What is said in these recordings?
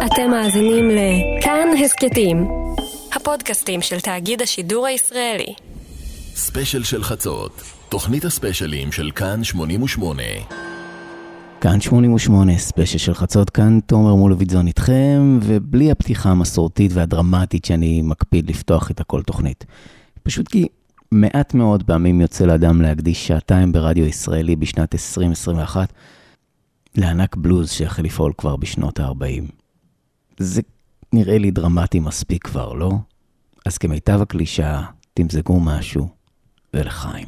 אתם מאזינים לכאן הסקטים, הפודקאסטים של תאגיד השידור הישראלי. ספיישל של חצות, תוכנית הספיישלים של כאן 88. כאן 88, ספיישל של חצות, כאן תומר מולוביצון איתכם, ובלי הפתיחה המסורתית והדרמטית שאני מקפיד לפתוח את הכל תוכנית. פשוט כי מעט מאוד פעמים יוצא לאדם להקדיש שעתיים ברדיו ישראלי בשנת 2021, לענק בלוז שהחל לפעול כבר בשנות ה-40. זה נראה לי דרמטי מספיק כבר, לא? אז כמיטב הקלישה, תמזגו משהו ולחיים.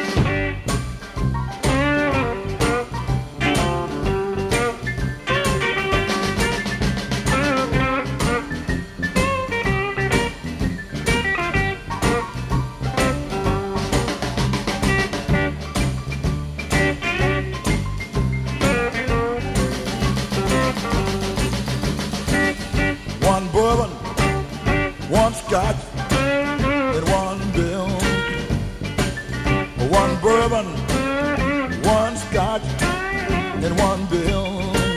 Scotch and one bill, one bourbon, one scotch and one bill.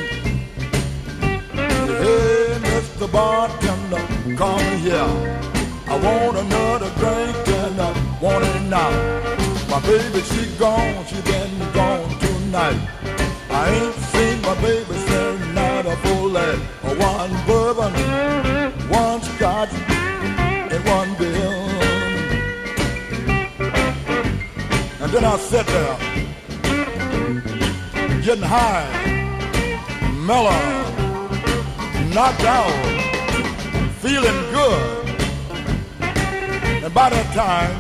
Hey, Mr. Bartender, come here. I want another drink and I want it now. My baby, she gone, she been gone tonight. I ain't seen my baby since night of full light. One bourbon, one scotch and one bill. And then I sat there, getting high, mellow, knocked out, feeling good. And by that time,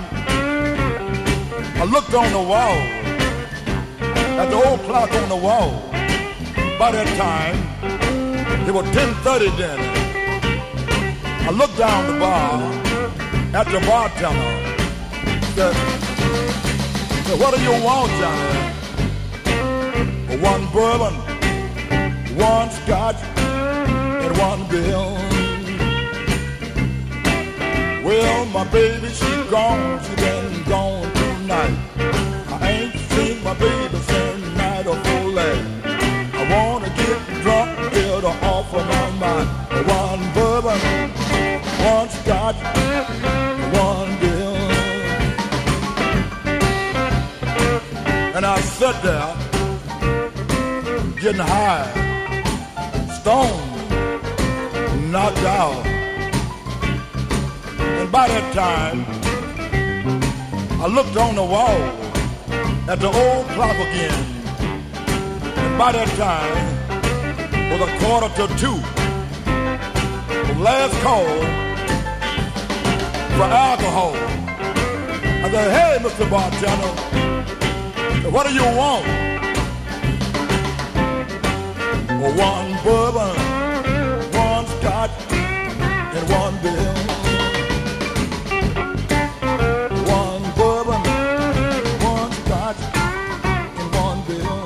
I looked on the wall, at the old clock on the wall. By that time, it was 10:30 then. I looked down the bar at the bartender. Said, what do you want, Johnny? One bourbon, one scotch, and one bill. Well, my baby, she gone, she been gone tonight. I ain't seen my baby since night of full light. I wanna get drunk, get her off of my mind. One bourbon, one scotch, one bill. And I sat there, getting high, stoned, knocked out. And by that time, I looked on the wall at the old clock again. And by that time, it was 1:45. Last call for alcohol. I said, hey, Mr. Bartender, what do you want? One bourbon, one scotch, and one bill. One bourbon, one scotch, and one bill.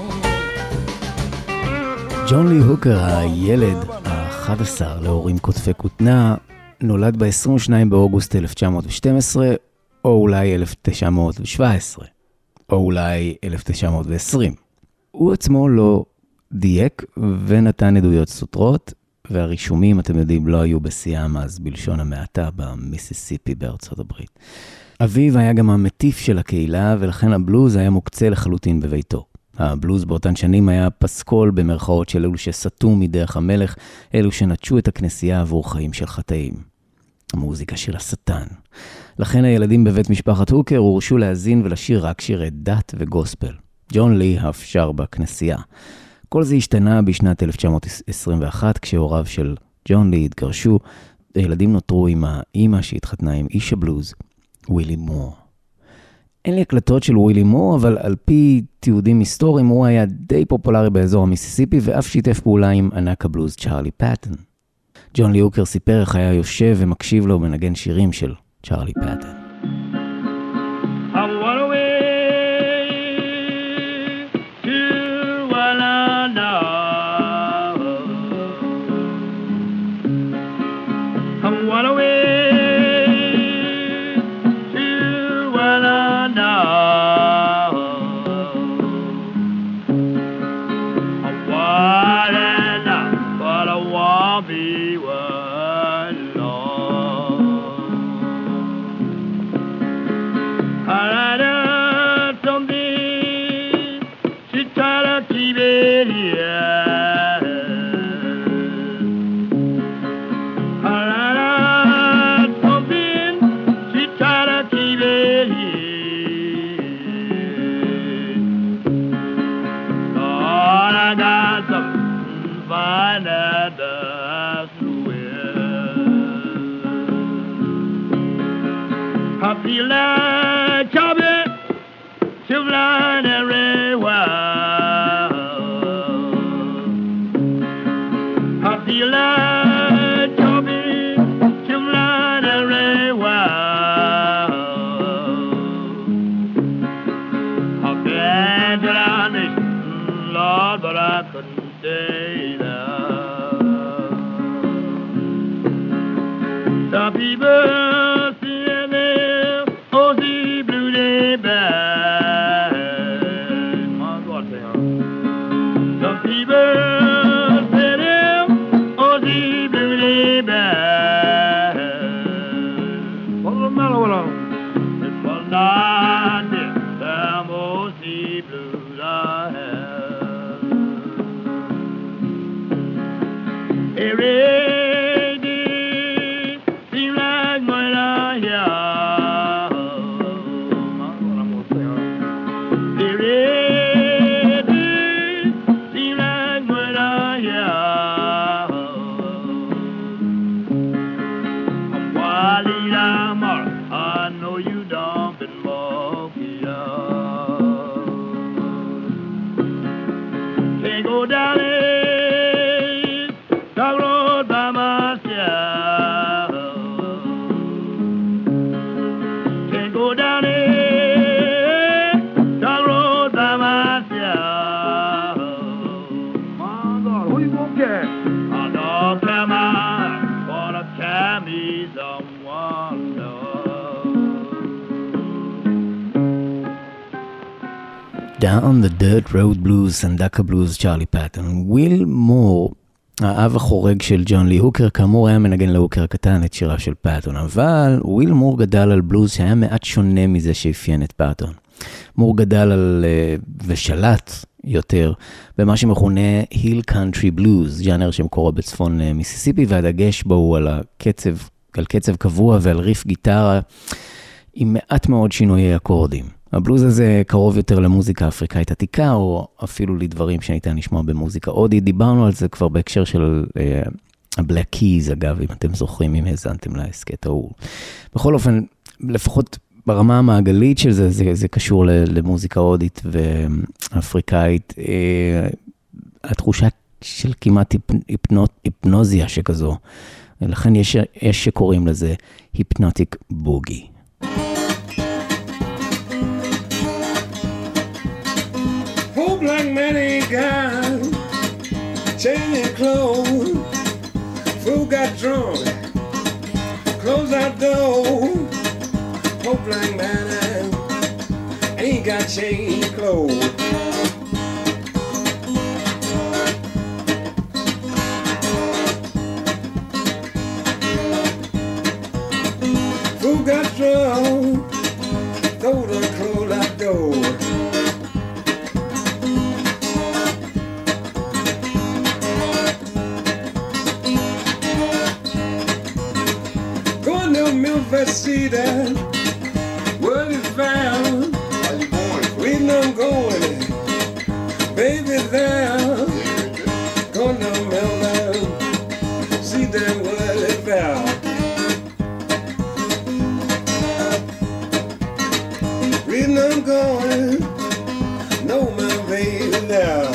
ג'ון לי הוקר, הילד ה-11 להורים כותפי כותנה, נולד ב-22 באוגוסט 1912, או אולי 1917, או אולי 1920. הוא עצמו לא דייק ונתן עדויות סותרות, והרישומים, אתם יודעים, לא היו בשיאם אז בלשון המעטה במיסיסיפי בארצות הברית. אביו היה גם המטיף של הקהילה, ולכן הבלוז היה מוקצה לחלוטין בביתו. הבלוז באותן שנים היה פסקול במרכאות של אלו שסתו מדרך המלך, אלו שנטשו את הכנסייה עבור חיים של חטאים. המוזיקה של השטן. לכן הילדים בבית משפחת הוקר הורשו להזין ולשיר רק שירי דת וגוספל. ג'ון לי אף שר בכנסייה. כל זה השתנה בשנת 1921, כשהוריו של ג'ון לי התגרשו, הילדים נותרו עם האמא שהתחתנה עם איש הבלוז, ווילי מור. אין לי הקלטות של ווילי מור, אבל על פי תיעודים היסטוריים הוא היה די פופולרי באזור המיסיסיפי, ואף שיתף פעולה עם ענק הבלוז צ'רלי פטן. ג'ון לי הוקר סיפר איך היה יושב ומקשיב לו מנגן שירים של צ'רלי פטן. What a I'll be one long. I had something, she tried to keep it here. I feel like chopping, flying everywhere. I feel like chopping, flying everywhere. I've been to the nation, Lord, but I couldn't stay there. The people Down the Dirt Road Blues, סנדקה בלוז, צ'רלי פטון. וויל מור, האב החורג של ג'ון לי הוקר, כאמור היה מנגן להוקר הקטן את שיריו של פטון, אבל וויל מור גדל על בלוז שהיה מעט שונה מזה שאפיין את פטון. מור גדל על ושלט יותר במה שמכונה היל קאנטרי בלוז, ז'אנר שמקורו בצפון מיסיסיפי, והדגש בו הוא על קצב קבוע ועל ריף גיטרה עם מעט מאוד שינויי אקורדים. הבלוז הזה קרוב יותר למוזיקה אפריקאית עתיקה, או אפילו לדברים שניתן לשמוע במוזיקה הודית. דיברנו על זה כבר בהקשר של הבלק קיז, אגב, אם אתם זוכרים, אם האזנתם להסקט ההוא. בכל אופן, לפחות ברמה המעגלית של זה, זה קשור למוזיקה הודית ואפריקאית. התחושה של כמעט היפנוזיה שכזו. לכן יש שקוראים לזה היפנוטיק בוגי. Like many guys, changing clothes, fool got drunk, closed that door. Hope like man ain't got changed clothes. Fool got drunk, told her close that door. See that word is found. How you going? Reading I'm going, baby there. Going down Melbourne. See that word is found. Reading I'm going, no my baby there.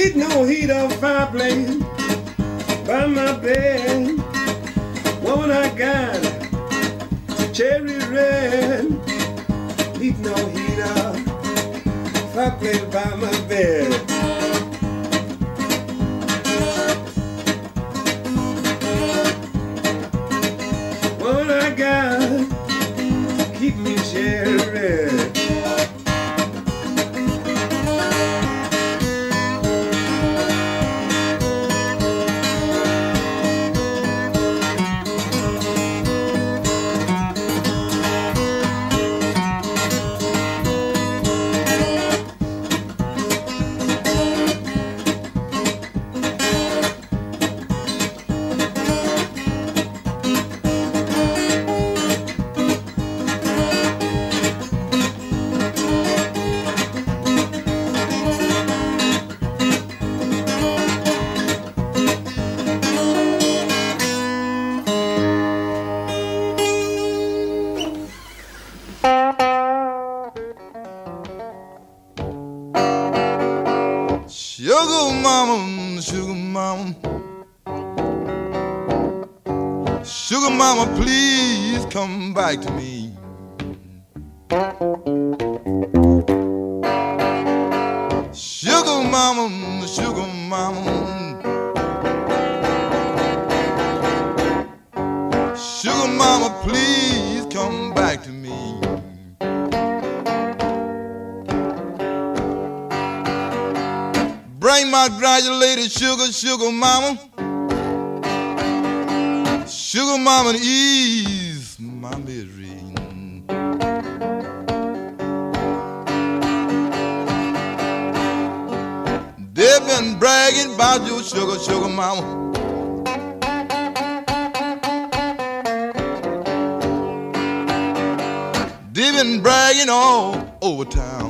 Need no heat or fireplace by my bed. Woman, I got cherry red. Need no heat or fireplace by my bed. Woman, I got keep me cherry red. Sugar mama, please come back to me. Sugar mama, sugar mama, sugar mama, please come back to me. Bring my granulated sugar, sugar mama. Sugar mama, ease my misery. They've been bragging about your sugar, sugar mama. They've been bragging all over town.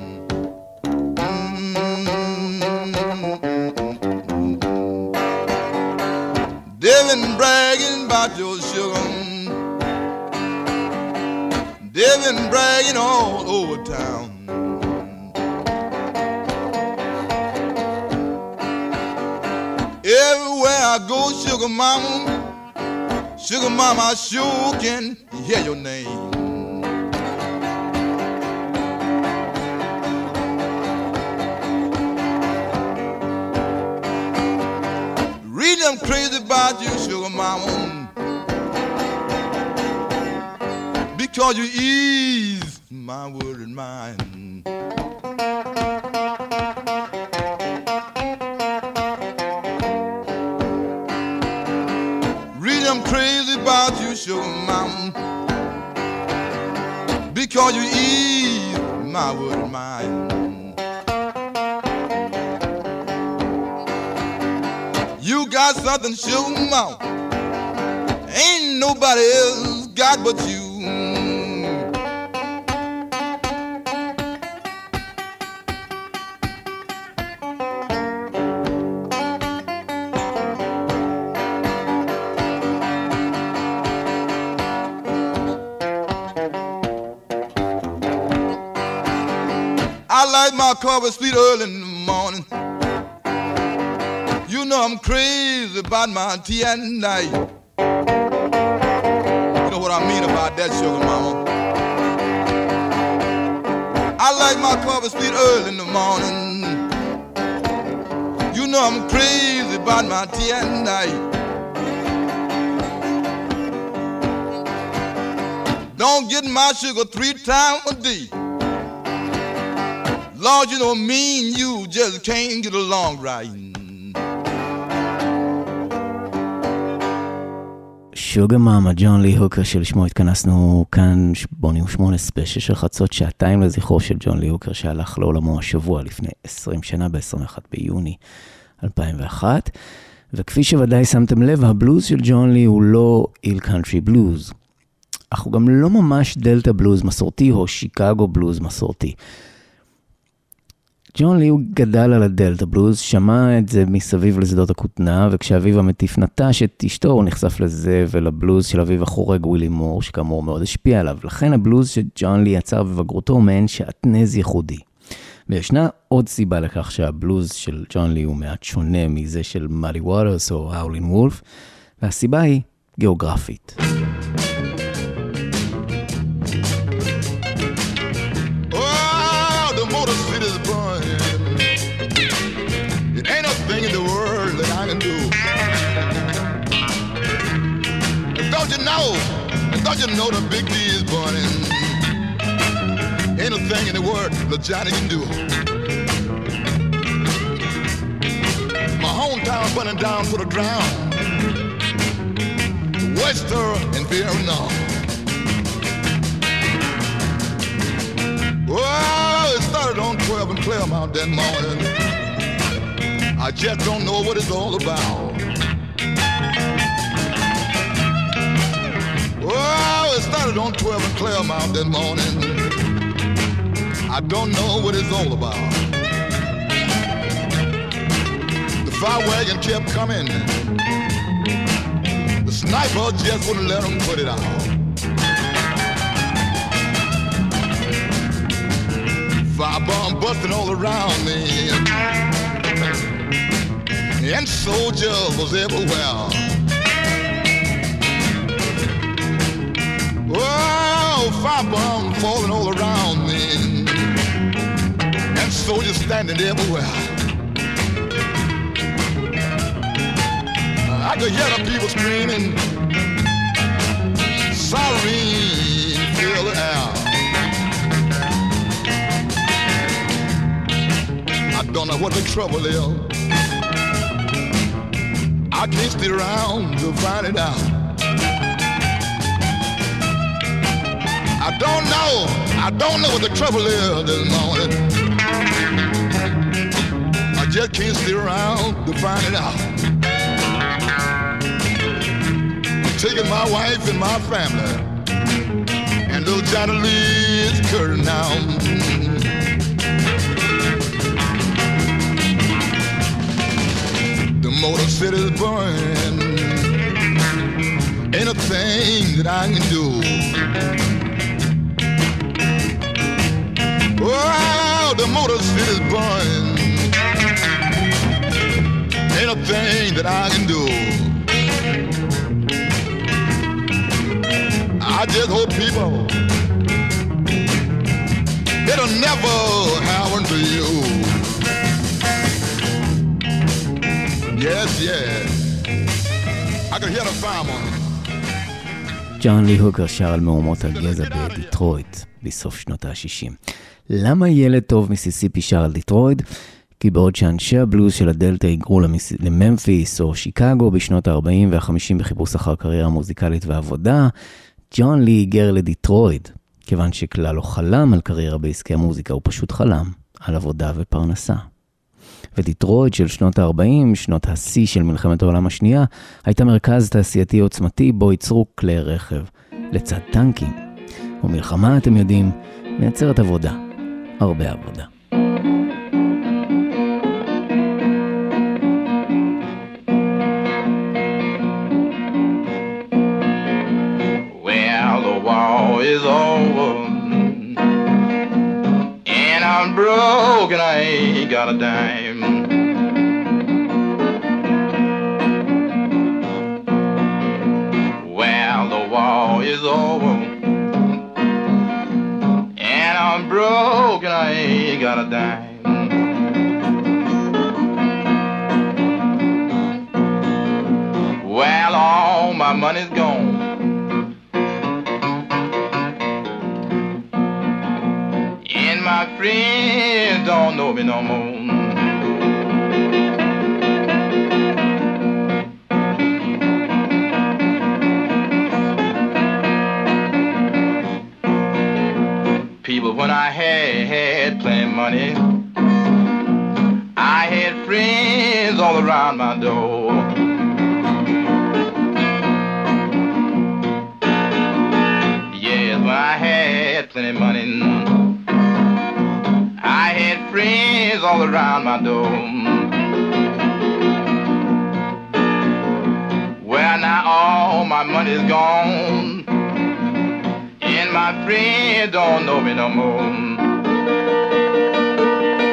They've been bragging about your sugar. They've been bragging all over town. Everywhere I go, sugar mama, I sure can hear your name. I'm crazy about you, sugar mama, because you ease my worried mind. Really, I'm crazy about you, sugar mama, because you ease my worried mind. You got something, sugar mama, ain't nobody else got but you. I like my coffee sweet early in the morning. You know I'm crazy about my tea at night. You know what I mean about that, sugar mama. I like my coffee sweet early in the morning. You know I'm crazy about my tea at night. Don't get my sugar 3 times a day. Lord, you know me and you just can't get along right. שוגה מאמה, ג'ון לי הוקר, שלשמו התכנסנו כאן 88 ספיישל של חצות, שעתיים לזכרו של ג'ון לי הוקר, שהלך לעולמו השבוע לפני 20 שנה, ב-21 ביוני 2001. וכפי שוודאי שמתם לב, הבלוז של ג'ון לי הוא לא איל קאנטרי בלוז, אך הוא גם לא ממש דלטה בלוז מסורתי או שיקגו בלוז מסורתי. ג'ון לי הוא גדל על הדלטה בלוז, שמע את זה מסביב לשדות הכותנה, וכשאביו המטיף נטש את אשתו, הוא נחשף לזה ולבלוז של אביו החורג ווילי מור, שכאמור מאוד השפיע עליו. לכן הבלוז שג'ון לי יצר בבגרותו הוא מעין שעטנז ייחודי. וישנה עוד סיבה לכך שהבלוז של ג'ון לי הוא מעט שונה מזה של מאלי ווטרס או האולין וולף, והסיבה היא גיאוגרפית. Don't you know the big D is burning? Ain't a thing in the world that Johnny can do. My hometown burning down to the ground. Wester and Vietnam. Well, it started on 12 and Claremont that morning. I just don't know what it's all about. Oh, it started on 12 and Claremont that morning. I don't know what it's all about. The fire wagon kept coming. The sniper just wouldn't let them put it out. Fire bomb busting all around me. And soldiers was everywhere. Oh, firebomb falling all around me, and soldiers standing everywhere. I could hear the people screaming, siren fill the air. I don't know what the trouble is. I can't stay around to find it out. I don't know what the trouble is this morning. I just can't stay around to find it out. I'm taking my wife and my family, and little Johnny Lee is curtain now. The Motor City's burning. Ain't a thing that I can do. Wow, the Motor City's burning. Ain't a thing that I can do. I just hope people, it'll never happen to you. Yes, yes. I can hear the fireman. ג'ון לי הוקר שר על מהומות הגזע בדיטרויט בסוף שנות ה-60. למה ילד טוב מיסיסיפי שר על דיטרויט? כי בעוד שאנשי הבלוז של הדלטה היגרו לממפיס או שיקגו בשנות ה-40 וה-50 בחיפוש אחר קריירה מוזיקלית ועבודה, ג'ון לי היגר לדיטרויט, כיוון שכלל לא חלם על קריירה בעסקי המוזיקה, הוא פשוט חלם על עבודה ופרנסה. ודיטרויט של שנות ה-40, שנות השיא של מלחמת העולם השנייה, הייתה מרכז תעשייתי עוצמתי בו ייצרו כלי רכב לצד טנקים. ומלחמה, אתם יודעים, מייצרת עבודה, הרבה עבודה. Well, the war is over and I'm broke and I ain't got a dime. Well, the war is over and I'm broke and I ain't got a dime. Well, all my money's gone. And my friends don't know me no more. People, when I had plenty of money, I had friends all around my door. Yes, when I had plenty of money, I had friends all around my door. Well, now all my money's gone, and my friends don't know me no more.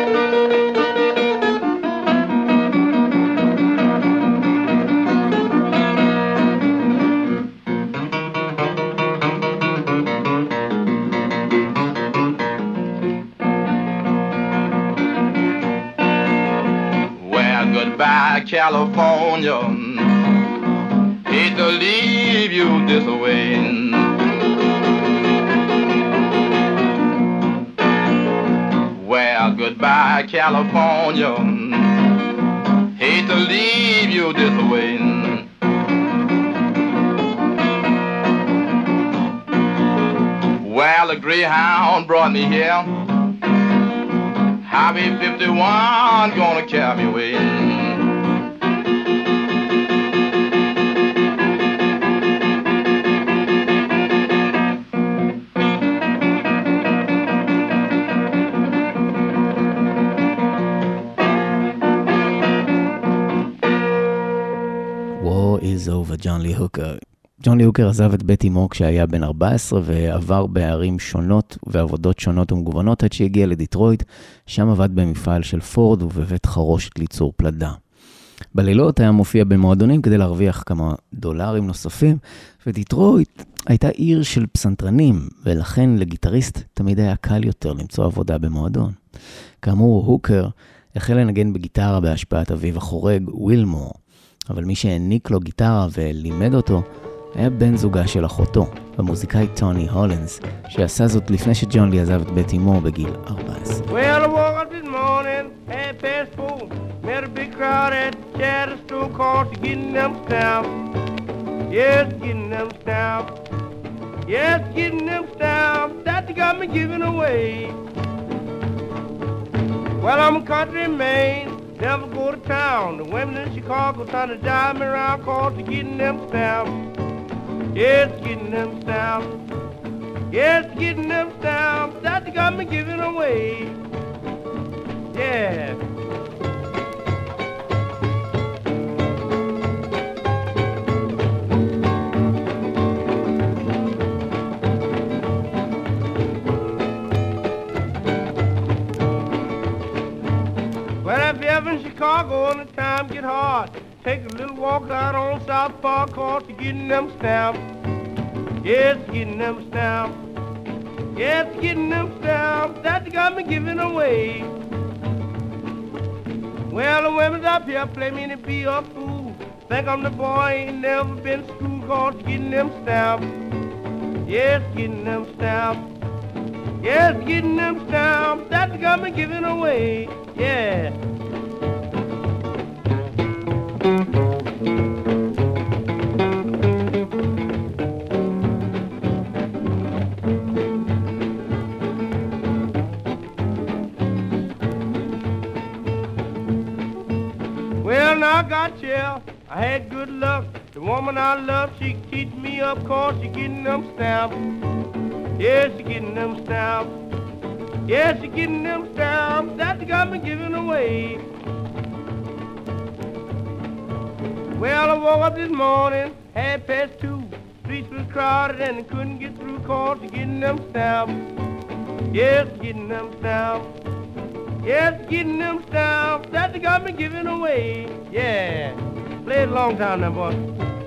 goodbye, California. Hate to leave you this way. Well, goodbye, California. Hate to leave you this way. Well, the Greyhound brought me here. Highway 51 gonna carry me away. War is over, ג'ון לי הוקר. ג'ון לי הוקר עזב את בית אמו כשהיה בן 14 ועבר בערים שונות ועבודות שונות ומגוונות עד שהגיע לדיטרויט, שם עבד במפעל של פורד ובבית חרושת ליצור פלדה. בלילות היה מופיע במועדונים כדי להרוויח כמה דולרים נוספים, ודיטרויט הייתה עיר של פסנתרנים, ולכן לגיטריסט תמיד היה קל יותר למצוא עבודה במועדון. כאמור, הוקר החל לנגן בגיטרה בהשפעת אביו החורג, ווילמור, אבל מי שהעניק לו גיטרה ולימד אותו היה בן זוגה של אחותו, המוזיקאי טוני הולינס, שעשה זאת לפני שג'ון לי עזב את בית אמו בגיל 14. Well, I woke up this morning, 4:30, met a big crowd at Chatter Store Court to getting them stamps. Yes, getting them stamps. Yes, getting them stamps that they got me giving away. Well, I'm a country man, never go to town. The women in Chicago trying to drive me around court to getting them stamps. Yes, getting them stamps. Yes, getting them stamps that they got me giving away. Yeah. Well, if you're ever in Chicago and the time get hard, take a little walk out on South Park Court to getting them stamps. Yes, getting them stamps. Yes, getting them stamps that they got me giving away. Well, the women's up here play me to be a fool. Think I'm the boy ain't never been to school called getting them stamps. Yes, getting them stamps. Yes, getting them stamps that they got me giving away. Yeah. Well, now I got you. I had good luck. The woman I love, she keeps me up, cause she getting them stamps. Yes, she getting them stamps. Yes, she getting them stamps that they got me giving away. Well, I woke up this morning, 2:30. Streets was crowded and I couldn't get through, cause she getting them stamps. Yes, getting them stamps. Yes, getting them stamps that they got me giving away. Yeah. Played a long time now, boy.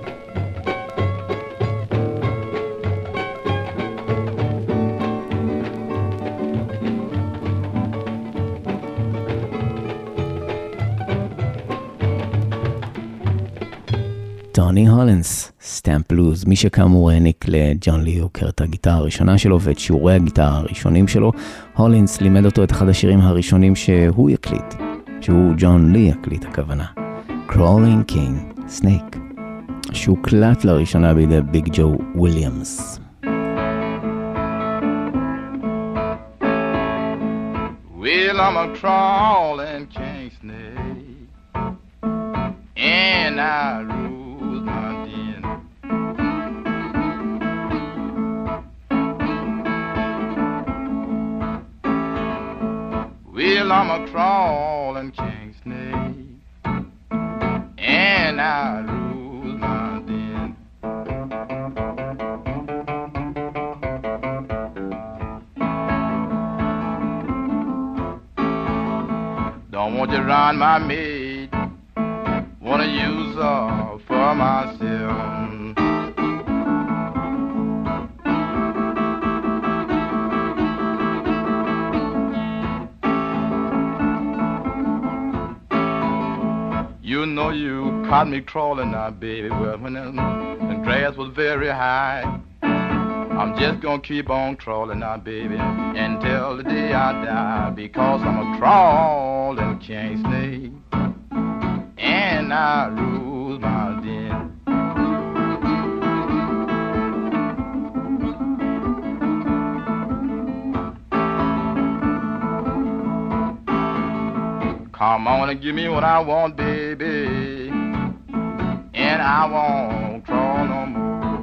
טוני הולינס, סטאמפ בלוז, מי שכאמור העניק לג'ון לי הוקר את הגיטרה הראשונה שלו ואת שיעורי הגיטרה הראשונים שלו. הולינס לימד אותו את אחד השירים הראשונים שהוא יקליט, שהוא ג'ון לי יקליט הכוונה, Crawling King Snake, שהוקלט לראשונה בידי ביג ג'ו וויליאמס. Well, I'm a crawling king snake, and I rule my den. Well, I'm a crawling king snake, and I rule my den. Don't want to run my maid, wanna use her for myself. You know you caught me crawling now, baby, well, when the grass was very high. I'm just gonna keep on crawling now, baby, until the day I die, because I'm a crawling king snake, and I rule my den. Come on and give me what I want, baby, and I won't crawl no more.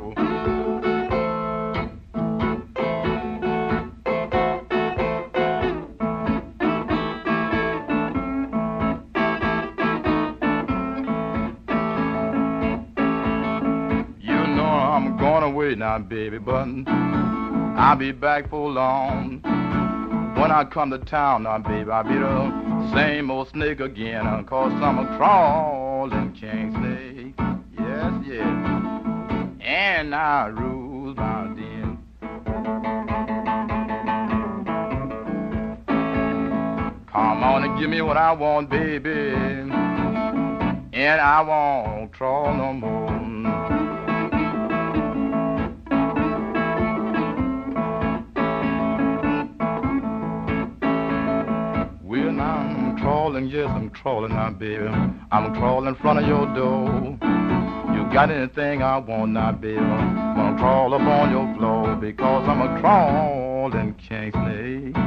Now, baby, but I'll be back for long. When I come to town now, baby, I'll be the same old snake again, 'cause I'm a crawling king snake. Yes, yes. And I rule my den. Come on and give me what I want, baby, and I won't crawl no more. Yes, I'm crawling now, baby. I'm crawling in front of your door. You got anything I want now, baby? I'm gonna crawl up on your floor, because I'm a crawling king snake,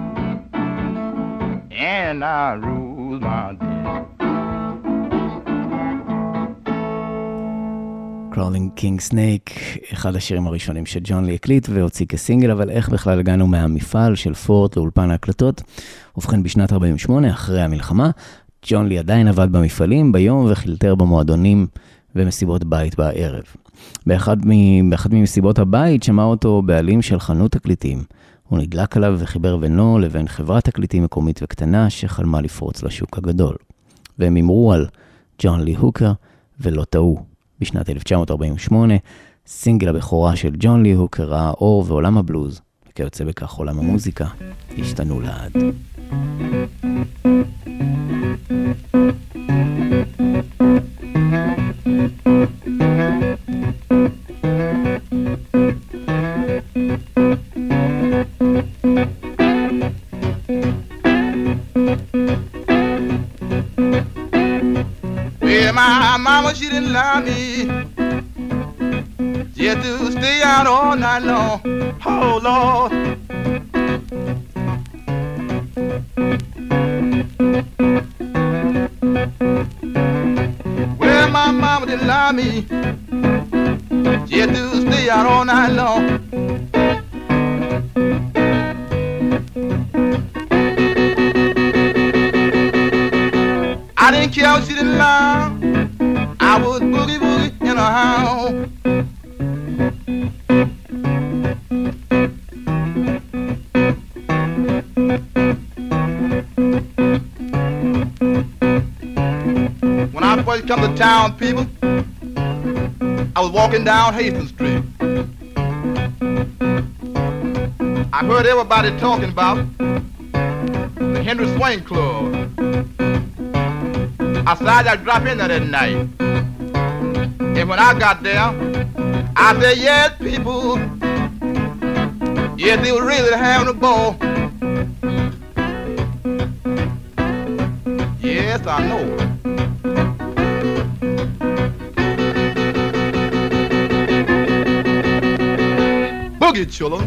and I rule my den. Crawling King Snake, אחד השירים הראשונים שג'ון לי הקליט והוציא כסינגל, אבל איך בכלל הגענו מהמפעל של פורט לאולפן ההקלטות? ובכן, בשנת 48, אחרי המלחמה, ג'ון לי עדיין עבד במפעלים ביום וחילטר במועדונים ומסיבות בית בערב. באחד ממסיבות הבית שמע אותו בעלים של חנות תקליטים. הוא נדלק עליו וחיבר בינו לבין חברת תקליטים מקומית וקטנה שחלמה לפרוץ לשוק הגדול. והם אמרו על ג'ון לי הוקר ולא טעו. בשנת 1948, סינגל הבכורה של ג'ון לי הוקר ראה אור, ועולם הבלוז, וכיוצא בכך עולם המוזיקה, השתנו לעד. My mama, she didn't allow me just to stay out all night long. Oh, Lord. Well, my mama didn't allow me just to stay out all night long. I didn't care what she didn't allow. I was boogie boogie in a house. When I first come to town, people, I was walking down Hastings Street. I heard everybody talking about the Henry Swain Club. I decided I'd drop in there that night. And when I got there, I said, yes, people, yes, they were really having a ball. Yes, I know. Boogie, children.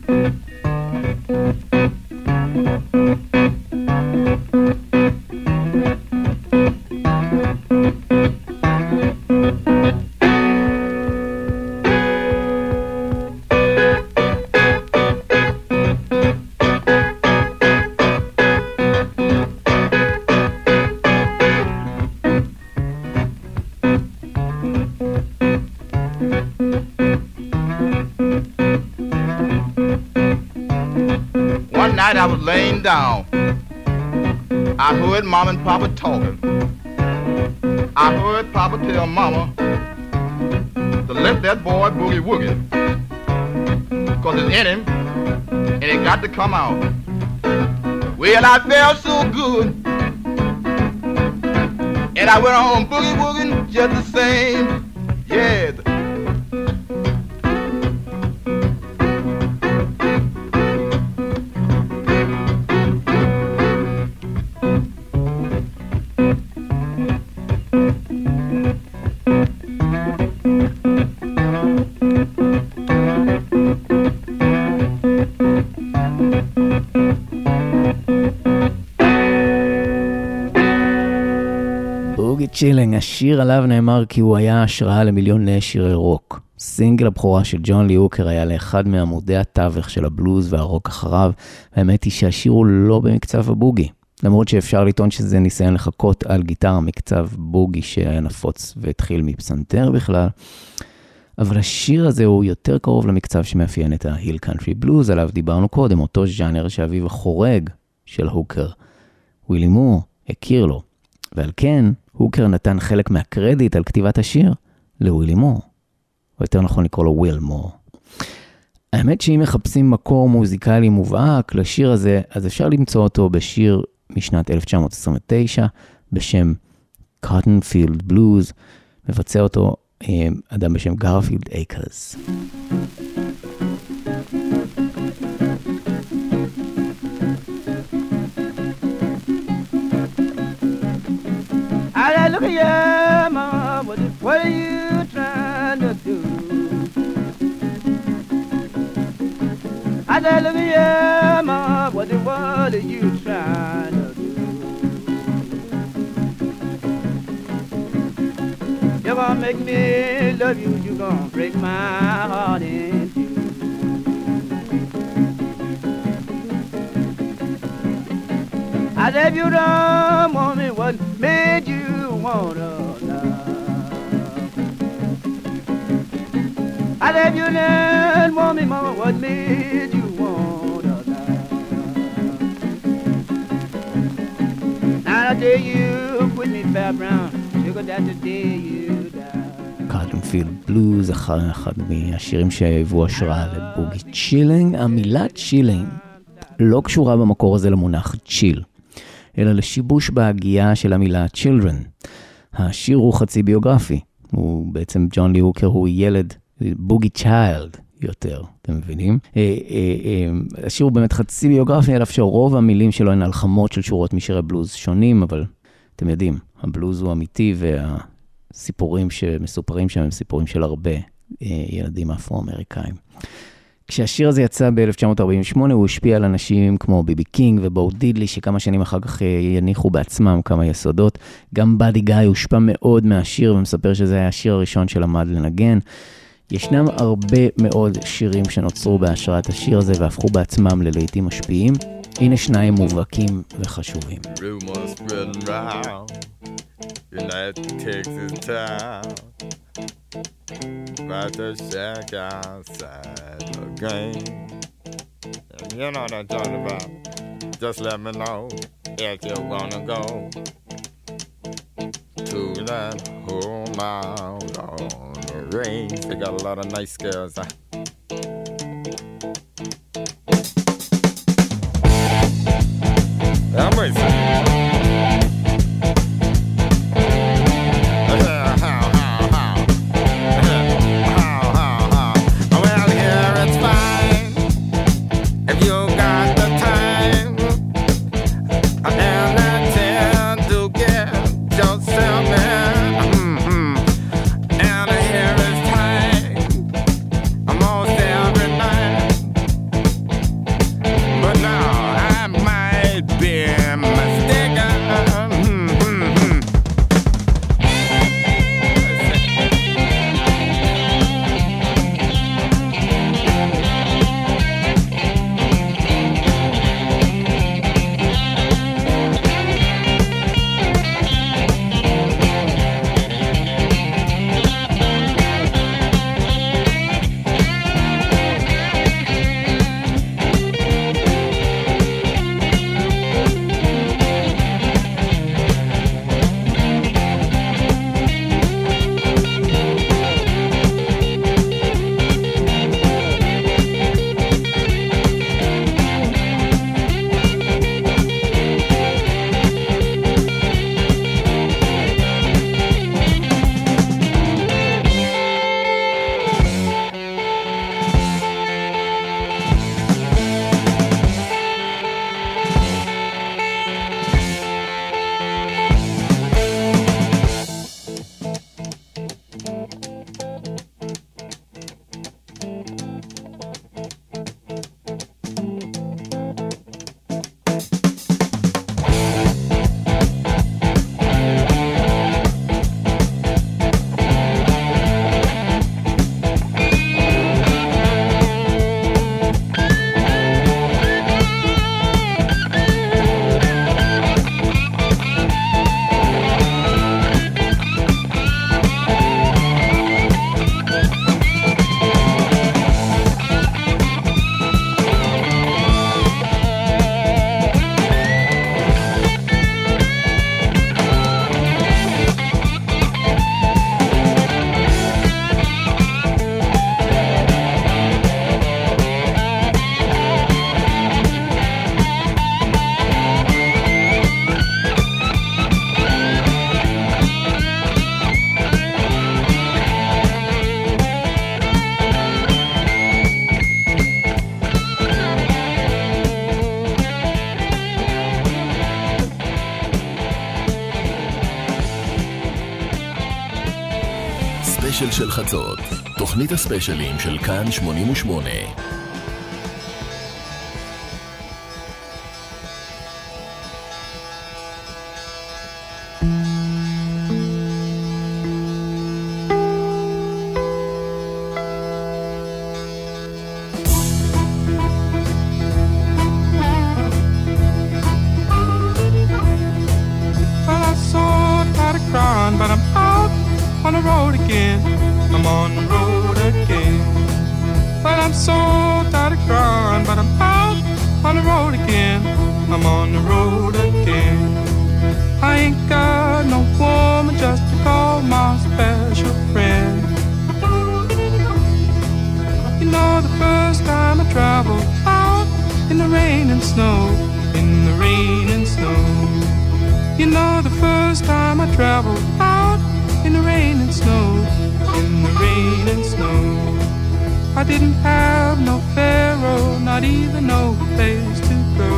I was laying down. I heard Mom and Papa talking. I heard Papa tell Mama to let that boy boogie woogie, 'cause it's in him and it got to come out. Well, I felt so good And I went on boogie-wooging just the same. Yeah. צ'ילינג, השיר עליו נאמר כי הוא היה השראה למיליוני שירי רוק. סינגל הבכורה של ג'ון לי הוקר היה לאחד מעמודי התווך של הבלוז והרוק אחריו, והאמת היא שהשיר הוא לא במקצב הבוגי. למרות שאפשר לטעון שזה ניסיון לחכות על גיטרה מקצב בוגי שהיה נפוץ והתחיל מפסנתר בכלל. אבל השיר הזה הוא יותר קרוב למקצב שמאפיין את ההיל קאנטרי בלוז, עליו דיברנו קודם, אותו ז'אנר שאביו החורג של הוקר. ווילי מור הכיר לו, ועל כן הוקר נתן חלק מהקרדיט על כתיבת השיר לווילי מור, או יותר נכון לקרוא לו וויל מור. האמת שאם מחפשים מקור מוזיקלי מובהק לשיר הזה, אז אפשר למצוא אותו בשיר משנת 1929, בשם Cotton Field Blues, מבצע אותו אדם בשם גרפילד אייקרס. I said, look at you, mama, what are you trying to do? I said, look at you, mama, what are you trying to do? You're gonna make me love you, you're gonna break my heart in two. I said, if you don't want me, what made you want to love? I said, if you didn't want me, mama, what made you want to love? Now the day you quit me, Fat Brown, sugar, that's the day you die. Cotton Field Blues, אחד מהשירים שהיוו השראה לבוגי צ'ילינג. המילה צ'ילינג לא קשורה במקור הזה למונח צ'יל, אלא לשיבוש בהגייה של המילה children. השיר הוא חצי ביוגרפי. הוא בעצם, ג'ון לי הוקר הוא ילד, בוגי צ'יילד יותר, אתם מבינים? השיר הוא באמת חצי ביוגרפי, אלא שרוב המילים שלו הן הלחמות של שורות משירי בלוז שונים, אבל אתם יודעים, הבלוז הוא אמיתי, והסיפורים שמסופרים שם הם סיפורים של הרבה ילדים אפרו-אמריקאים. כשהשיר הזה יצא ב-1948, הוא השפיע על אנשים כמו ביבי קינג ובו דידלי, שכמה שנים אחר כך יניחו בעצמם כמה יסודות. גם באדי גאי הושפע מאוד מהשיר, ומספר שזה היה השיר הראשון שלמד לנגן. ישנם הרבה מאוד שירים שנוצרו בהשראת השיר הזה, והפכו בעצמם ללהיטים משפיעים. הנה שניים מובהקים וחשובים. Rumors spreading round in that Texas town about the shack outside the game. And you know what I'm talking about. Just let me know if you wanna go to that home out on the range. They got a lot of nice girls. I'm racing. Mistake הספיישל של חצות, תוכנית הספיישלים של כאן 88. But I'm out on the road again. I'm on the road again. But I'm so tired of crying. But I'm out on the road again. I'm on the road again. I ain't got no woman just to call my special friend. You know the first time I traveled out in the rain and snow, in the rain and snow. You know the first time I traveled out in the rain and snow, in the rain and snow. I didn't have no pharaoh, not even no place to go.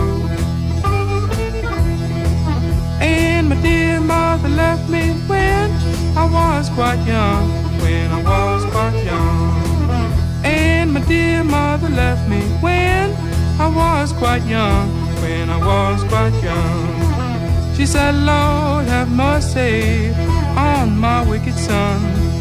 And my dear mother left me when I was quite young, when I was quite young. And my dear mother left me when I was quite young, when I was quite young. She said, Lord, have mercy on my wicked son.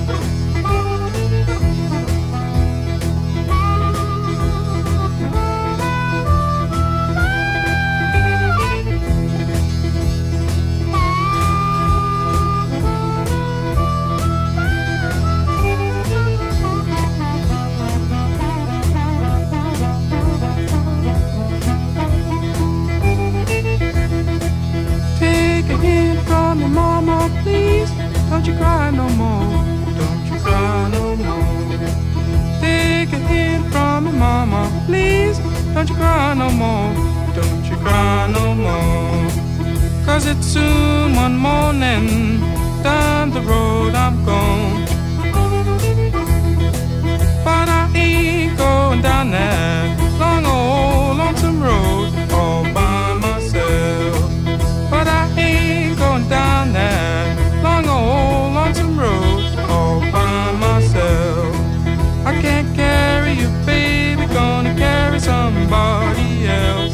Mama, please, don't you cry no more. Don't you cry no more. Take a hint from me, Mama, please, don't you cry no more. Don't you cry no more. 'Cause it's soon one morning, down the road I'm gone. But I ain't going down that long old lonesome road all by myself. But I ain't going down that long old lonesome road all by myself. I can't carry you, baby, gonna carry somebody else.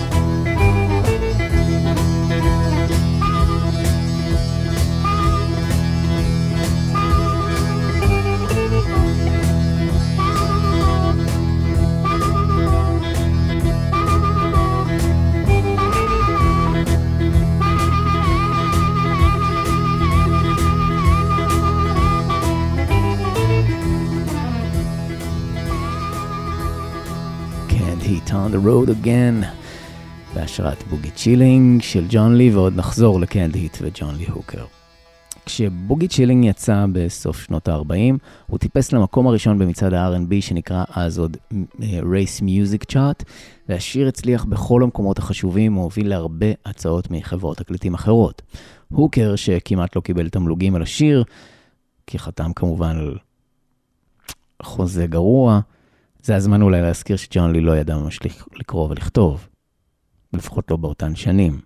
On the Road Again, בהשראת בוגי צ'ילינג של ג'ון לי, ועוד נחזור לקנד היט וג'ון לי הוקר. כשבוגי צ'ילינג יצא בסוף שנות ה-40, הוא טיפס למקום הראשון במצעד ה-R&B שנקרא אז עוד Race Music Chart, והשיר הצליח בכל המקומות החשובים, הוא הוביל להרבה הצעות מחברות תקליטים אחרות. הוקר, שכמעט לא קיבל תמלוגים על השיר, כי חתם כמובן על חוזה גרוע, זה הזמן אולי להזכיר שג'ון לי לא ידע ממש לקרוא ולכתוב, לפחות לא באותן שנים.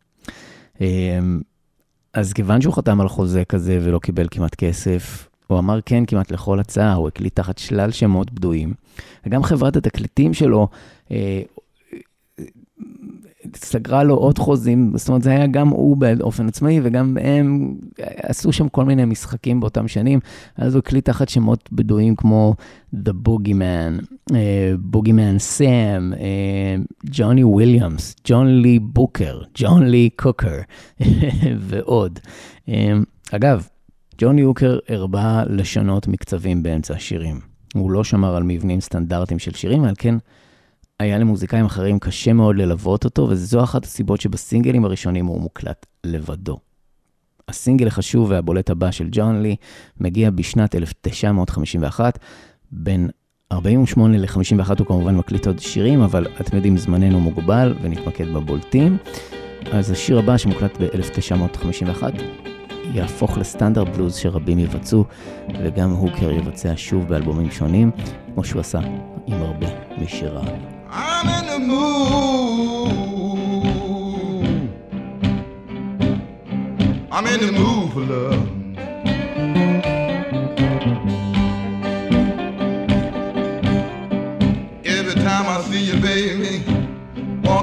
אז כיוון שהוא חתם על חוזה כזה ולא קיבל כמעט כסף, הוא אמר כן כמעט לכל הצעה, הוא הקליט תחת שלל שמות בדויים, וגם חברת התקליטים שלו סגרה לו עוד חוזים, זאת אומרת זה היה גם הוא באופן עצמאי, וגם הם עשו שם כל מיני משחקים באותם שנים, אז הוא הקליט תחת שמות בדויים כמו The Boogeyman, Boogeyman Sam, ג'וני וויליאמס, ג'ון לי בוקר, ג'ון לי קוקר, ועוד. אגב, ג'ון לי הוקר הרבה לשונות מקצבים באמצע השירים. הוא לא שמר על מבנים סטנדרטיים של שירים, אבל כן היה למוזיקאים אחרים קשה מאוד ללוות אותו, וזו אחת הסיבות שבסינגלים הראשונים הוא מוקלט לבדו. הסינגל החשוב והבולט הבא של ג'ון לי מגיע בשנת 1951, בין 48 ל-51 הוא כמובן מקליט עוד שירים, אבל אתם יודעים, זמננו מוגבל ונתמקד בבולטים. אז השיר הבא שמוקלט ב-1951 יהפוך לסטנדרט בלוז שרבים יבצעו, וגם הוקר יבצע שוב באלבומים שונים, כמו שהוא עשה עם הרבה משיריו. I'm in the mood. I'm in the mood for love.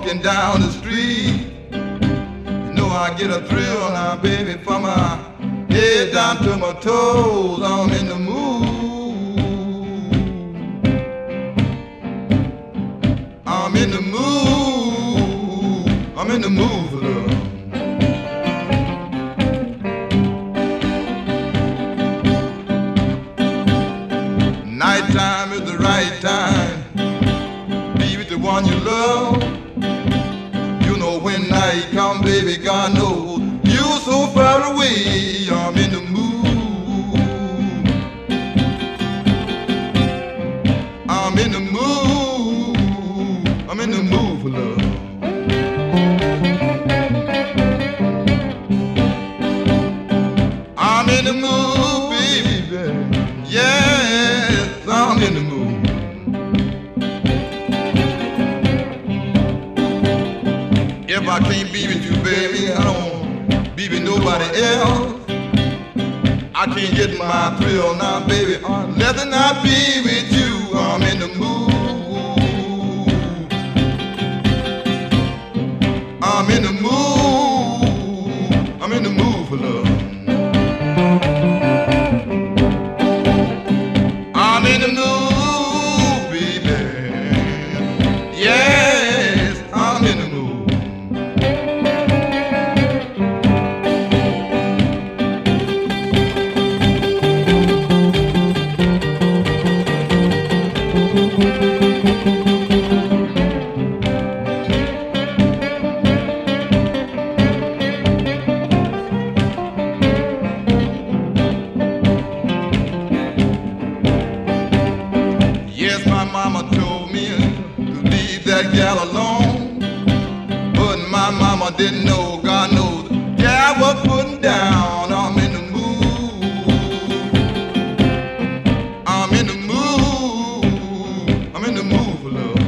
walking down the street. You know I get a thrill now, baby, from my head down to my toes. I'm in the mood. I'm in the mood. I'm in the mood for love. Nighttime is the right time. Be with the one you love. You know when night come, baby, God knows you're so far away. I'm in the mood. I'm in the mood. I'm in the mood for love. I'm in the mood, baby. Yes, I'm in the mood. If I can't be with you, baby, I don't be with nobody else. I can't get my thrill now, baby, unless I be with you. I'm in the mood. I'm in the mood. I'm in the mood for love. I'm in the mood, baby. Yes, I'm in the mood. Yes, my mama told me to leave that gal alone, but my mama didn't know, God knows, gal was putting down. I'm in the mood. I'm in the mood. I'm in the mood for love.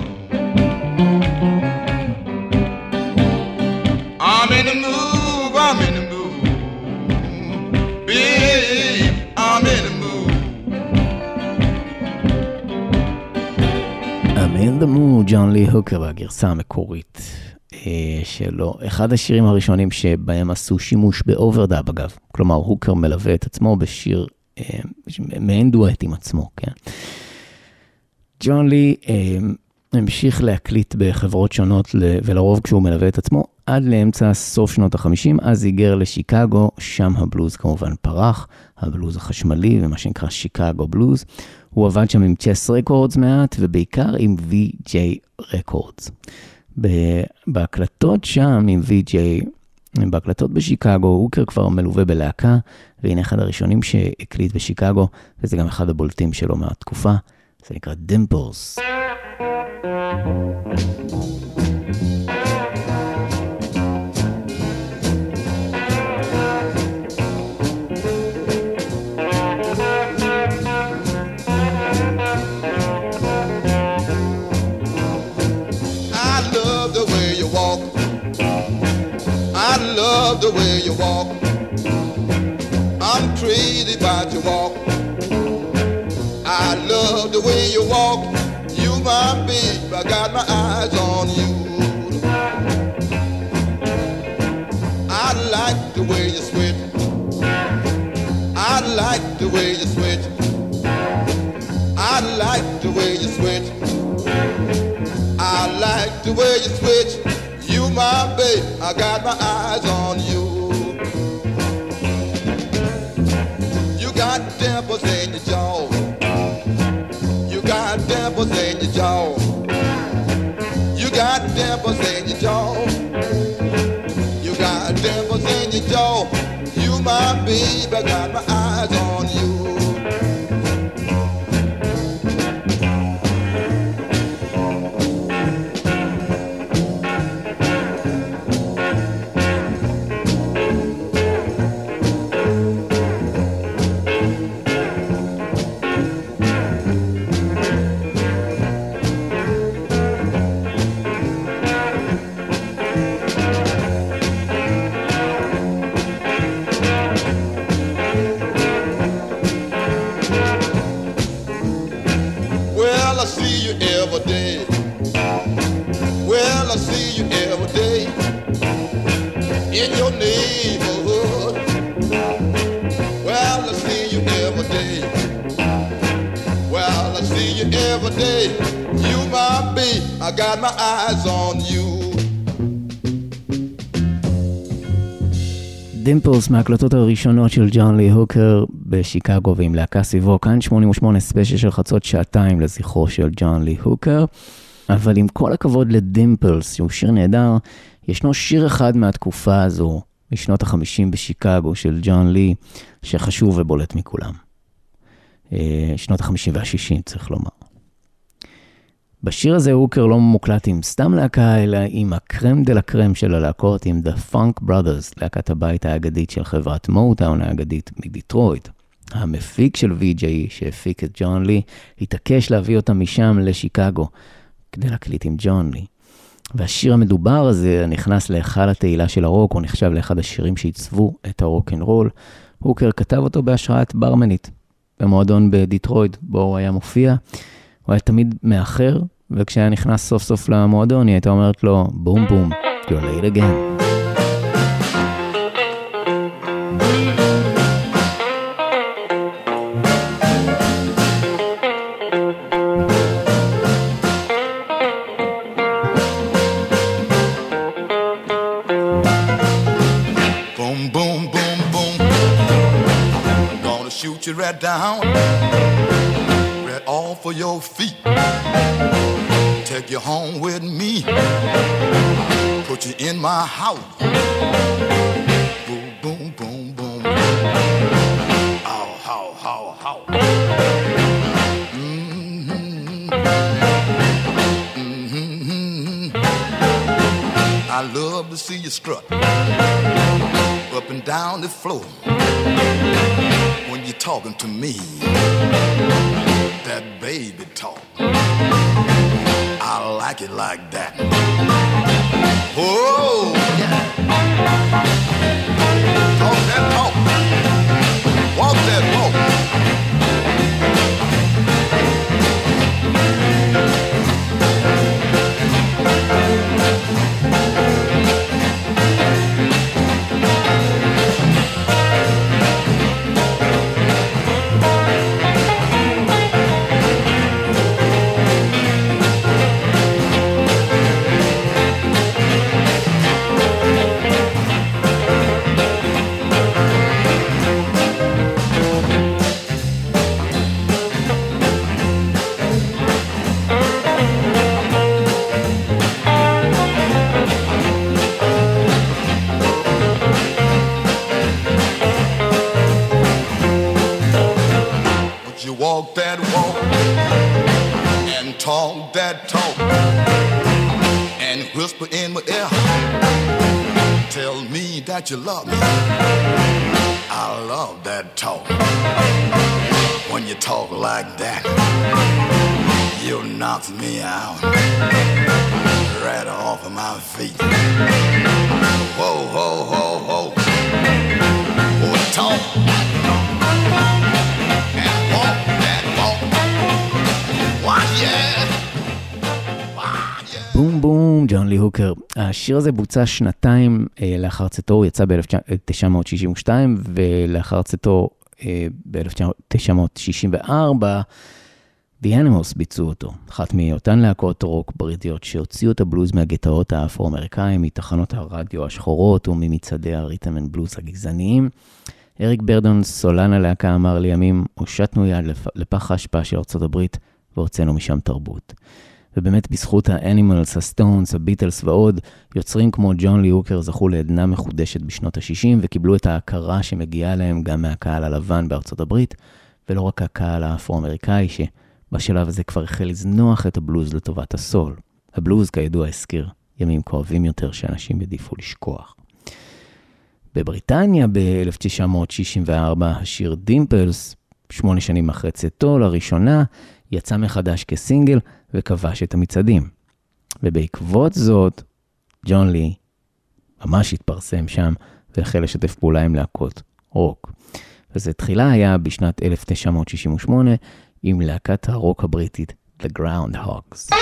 I'm in the mood. I'm in the mood. Babe, I'm in the mood. I'm in the mood, ג'ון לי הוקר בגרסה המקורית שלו. אחד השירים הראשונים שבהם עשו שימוש באוברדאב, אגב. כלומר, הוקר מלווה את עצמו בשיר מעין דואט עם עצמו, כן. ג'ון לי המשיך להקליט בחברות שונות, ולרוב כשהוא מלווה את עצמו, עד לאמצע סוף שנות ה-50, אז היגר לשיקגו, שם הבלוז כמובן פרח, הבלוז החשמלי ומה שנקרא שיקגו בלוז. הוא עבד שם עם צ'ס רקורדס מעט, ובעיקר עם VJ רקורדס. בהקלטות שם עם VJ, בהקלטות בשיקגו, הוקר כבר מלווה בלהקה, והנה אחד הראשונים שהקליט בשיקגו, וזה גם אחד הבולטים שלו מהתקופה, זה נקרא דימפלס. I love the way you walk. I'm crazy about your walk. I love the way you walk. You my babe, I got my eyes on you. I like the way you switch. I like the way you switch. I like the way you switch. I like the way you switch. You my babe, I got my eyes on you. You got dimples in your jaw. You got dimples in your jaw. You got dimples in your jaw. You got dimples in your jaw. You my babe, I got my eyes on you. every day. You my babe, I got my eyes on you. דימפלס מהקלטות הראשונות של ג'ון לי הוקר בשיקגו ועם להקה סביבו. כאן 88 ספיישל של חצות שעתיים לזכרו של ג'ון לי הוקר. אבל עם כל הכבוד לדימפלס, שהוא שיר נהדר, ישנו שיר אחד מהתקופה הזו, משנות ה-50 בשיקגו של ג'ון לי, שחשוב ובולט מכולם. שנות ה-50 וה-60 צריך לומר. בשיר הזה הוקר לא מוקלט עם סתם להקה, אלא עם הקרם דה לקרם של הלהקות, עם The Funk Brothers, להקת הבית האגדית של חברת מוטאון האגדית מדיטרויט. המפיק של VJ שהפיק את ג'ון לי, התעקש להביא אותם משם לשיקגו, כדי להקליט עם ג'ון לי. והשיר המדובר הזה נכנס להיכל התהילה של הרוק, הוא נחשב לאחד השירים שעיצבו את הרוק אנד רול. הוקר כתב אותו בהשראת ברמנית, במועדון בדיטרויט, בו הוא היה מופיע. הוא היה תמיד מאחר, וכשהיה נכנס סוף סוף למועדון, היא הייתה אומרת לו, בום בום, you're late again. Boom, boom, boom, boom. Gonna shoot you right down. All for your feet. Take you home with me. Put you in my house. Boom, boom, boom, boom. Ow, how, how, how. Mm-hmm. Mm-hmm. I love to see you strut up and down the floor when you're talking to me. That baby talk, I like it like that. Oh, yeah. Talk that talk, walk that walk. Walk that walk and talk that talk and whisper in my ear. Tell me that you love me. I love that talk. When you talk like that, you knock me out right off of my feet. Whoa, whoa, whoa, whoa. Oh, talk. בום בום, ג'ון לי הוקר. השיר הזה בוצע שנתיים לאחר צאתו, הוא יצא ב-1962, ולאחר צאתו ב-1964, The Animals ביצעו אותו. אחת מאותן להקות רוק בריטיות שהוציאו את הבלוז מהגטאות האפרו-אמריקאים, מתחנות הרדיו השחורות וממצעדי הריתם אנד בלוז הגזעניים. אריק ברדון, סולן הלהקה, אמר לימים, הושטנו יד לפח ההשפעה של ארצות הברית, והוצאנו משם תרבות. ובאמת בזכות האנימלס, הסטונס, הביטלס ועוד, יוצרים כמו ג'ון לי הוקר זכו לעדנה מחודשת בשנות ה-60, וקיבלו את ההכרה שמגיעה להם גם מהקהל הלבן בארצות הברית, ולא רק הקהל האפרו-אמריקאי, שבשלב הזה כבר החל לזנוח את הבלוז לטובת הסול. הבלוז כידוע הזכיר ימים כואבים יותר שאנשים ידיפו לשכוח. בבריטניה ב-1964 השיר דימפלס, 8 שנים אחרי צאתו לראשונה, יצא מחדש כסינגל וכבש את המצעדים. ובעקבות זאת, ג'ון לי ממש התפרסם שם והחל לשתף פעולה עם להקות רוק. וזה תחילה היה בשנת 1968 עם להקת הרוק הבריטית The Groundhogs.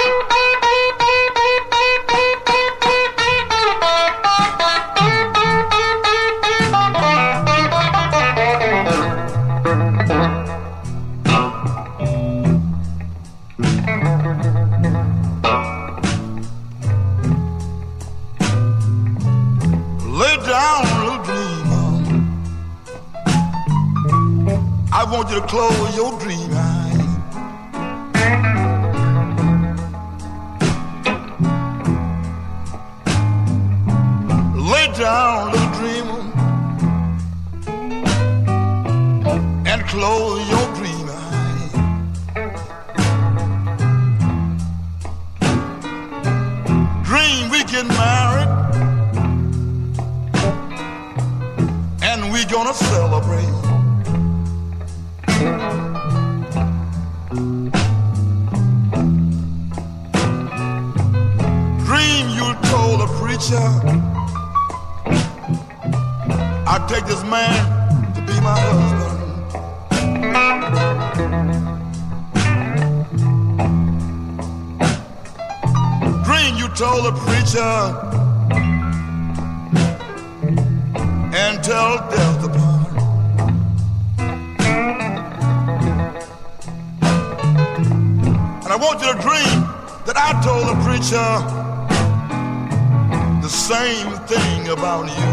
I want you to close your dream eyes. Lay down, little dreamer, and close your dream eyes. Dream we get married, and we gonna celebrate. Dream you told a preacher, I'll take this man to be my husband. Dream you told a preacher, and tell death to part. And I want you to dream that I told the preacher the same thing about you.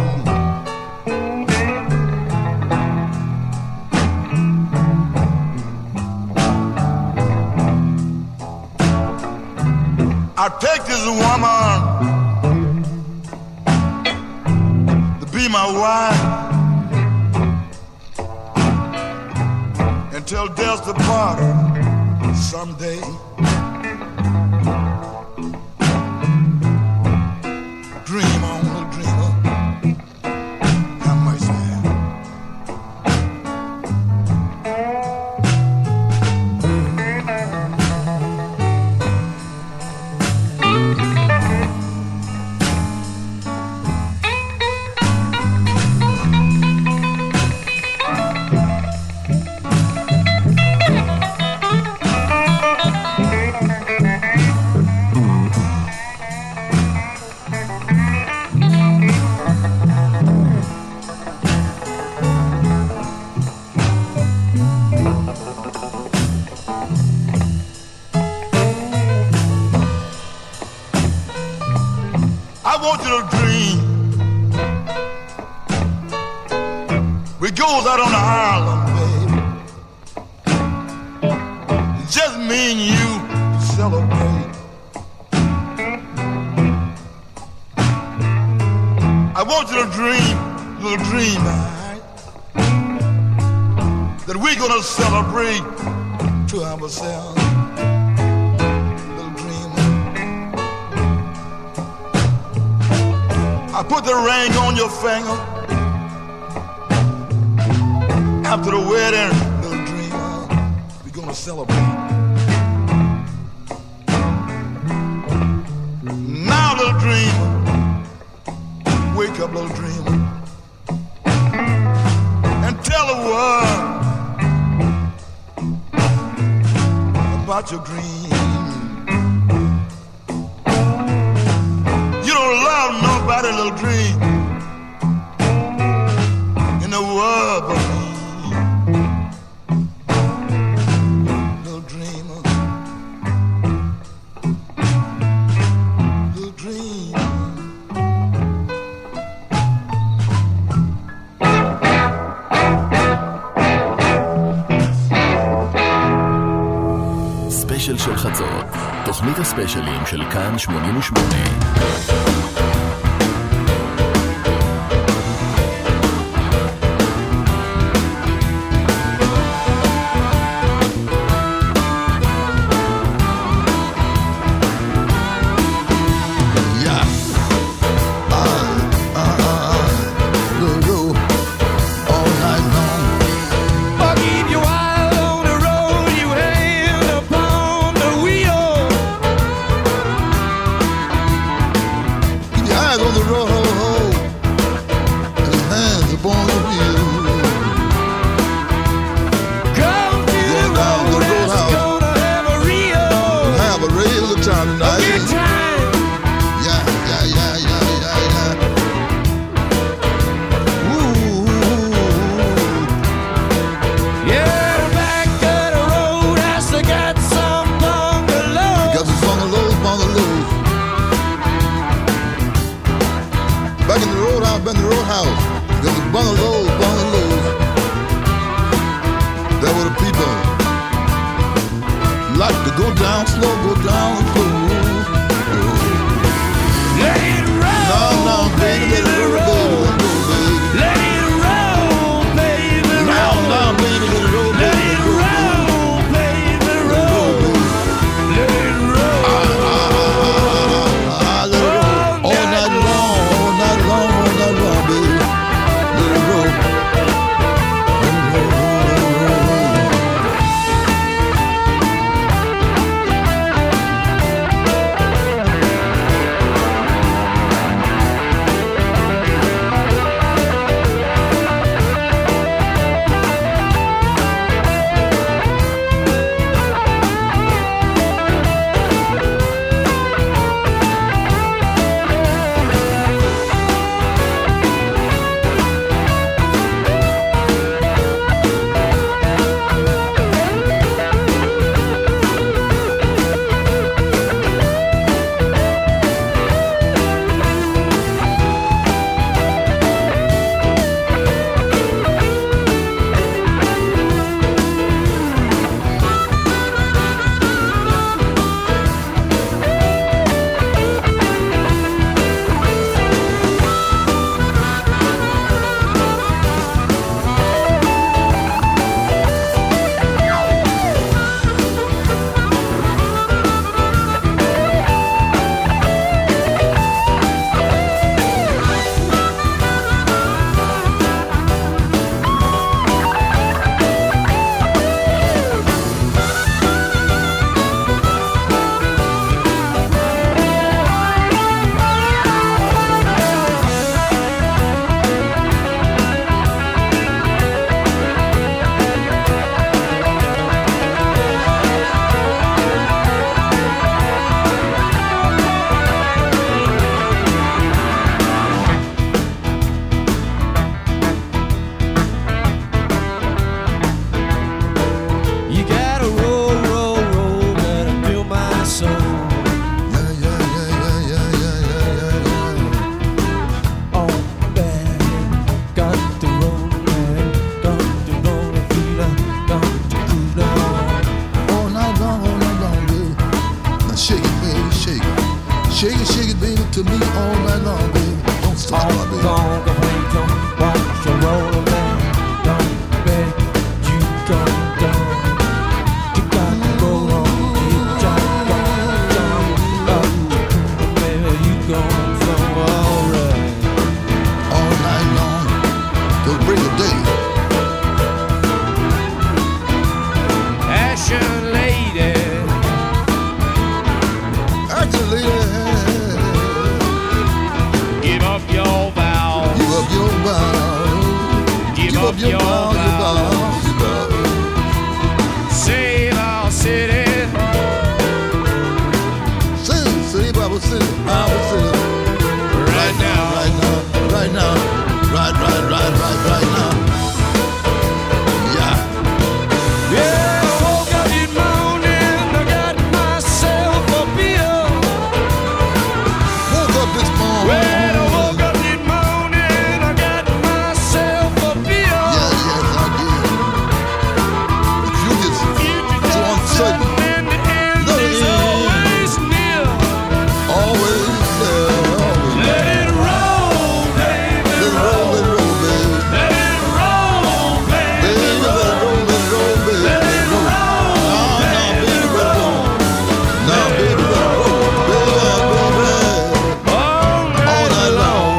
I take this woman to be my wife until death to part someday. Dream on, little dreamer. Have mercy. I want you to dream. We goes out on the island, baby. It's just me and you to celebrate. I want you to dream, little dream, right? That we're gonna celebrate to ourselves. I put the ring on your finger. After the wedding, little dreamer, we're gonna celebrate. Now, little dreamer, wake up, little dreamer, and tell the world about your dream. You don't love nobody, little dream, in the world but me. Little dreamer, little dream. ספיישל של חצות, תוכנית הספיישלים של כאן 88. There were the people like to go down slow, go down slow. Let it roll, No, baby, let it roll, baby. let it roll, baby, roll. No, baby, let it roll, Let baby. it roll, baby, roll. Let it roll. Let it roll. All night long, all night long, all night long, baby. Let it roll. Shake it, baby, to me all night long, baby. Don't stop, baby. Watch your roller, man. Don't bet you go down. You gotta go on. You gotta go down. Baby, you gon' flow alright. All night long, till break of day. Asher lady, give up your vows. Give up your vows. Give up your vows. Save our city. Save our city, our city. Right now. Right now, right now. Right now. Yeah. Yeah, I woke up this morning, I got myself a beer. Woke up this morning. Well, I woke up this morning, I got myself a beer. Yeah, yes, I did. But you just so uncertain. And the end is always near. Always there, always there. Let it roll, baby. Let it roll, baby. Let it roll, baby. Baby, let it roll, baby. Let it roll. Now, baby, let it roll. Baby, all night long.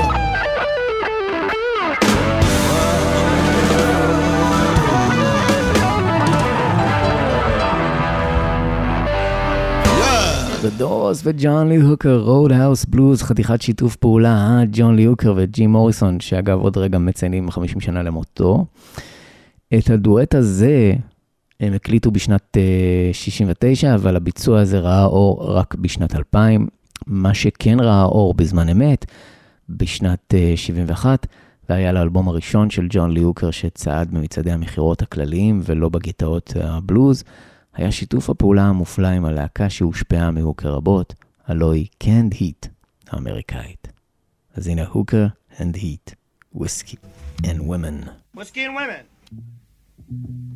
The Doors וג'ון לי הוקר, רודהאוס בלוז, חתיכת שיתוף פעולה, ג'ון לי הוקר וג'ים מוריסון, שאגב עוד רגע מציינים 50 שנה למותו. את הדואט הזה הם הקליטו בשנת 69, אבל הביצוע הזה ראה אור רק בשנת 2000, מה שכן ראה אור בזמן אמת, בשנת 71, והיה לאלבום הראשון של ג'ון לי הוקר שצעד במצעדי המחירות הכלליים ולא בגיטאות הבלוז, היה שיתוף הפעולה המופלא עם הלהקה שהושפעה מהוקר רבות, הלוא היא קנד היט האמריקאית. אז הנה הוקר and heat, whiskey and women. Whiskey and women.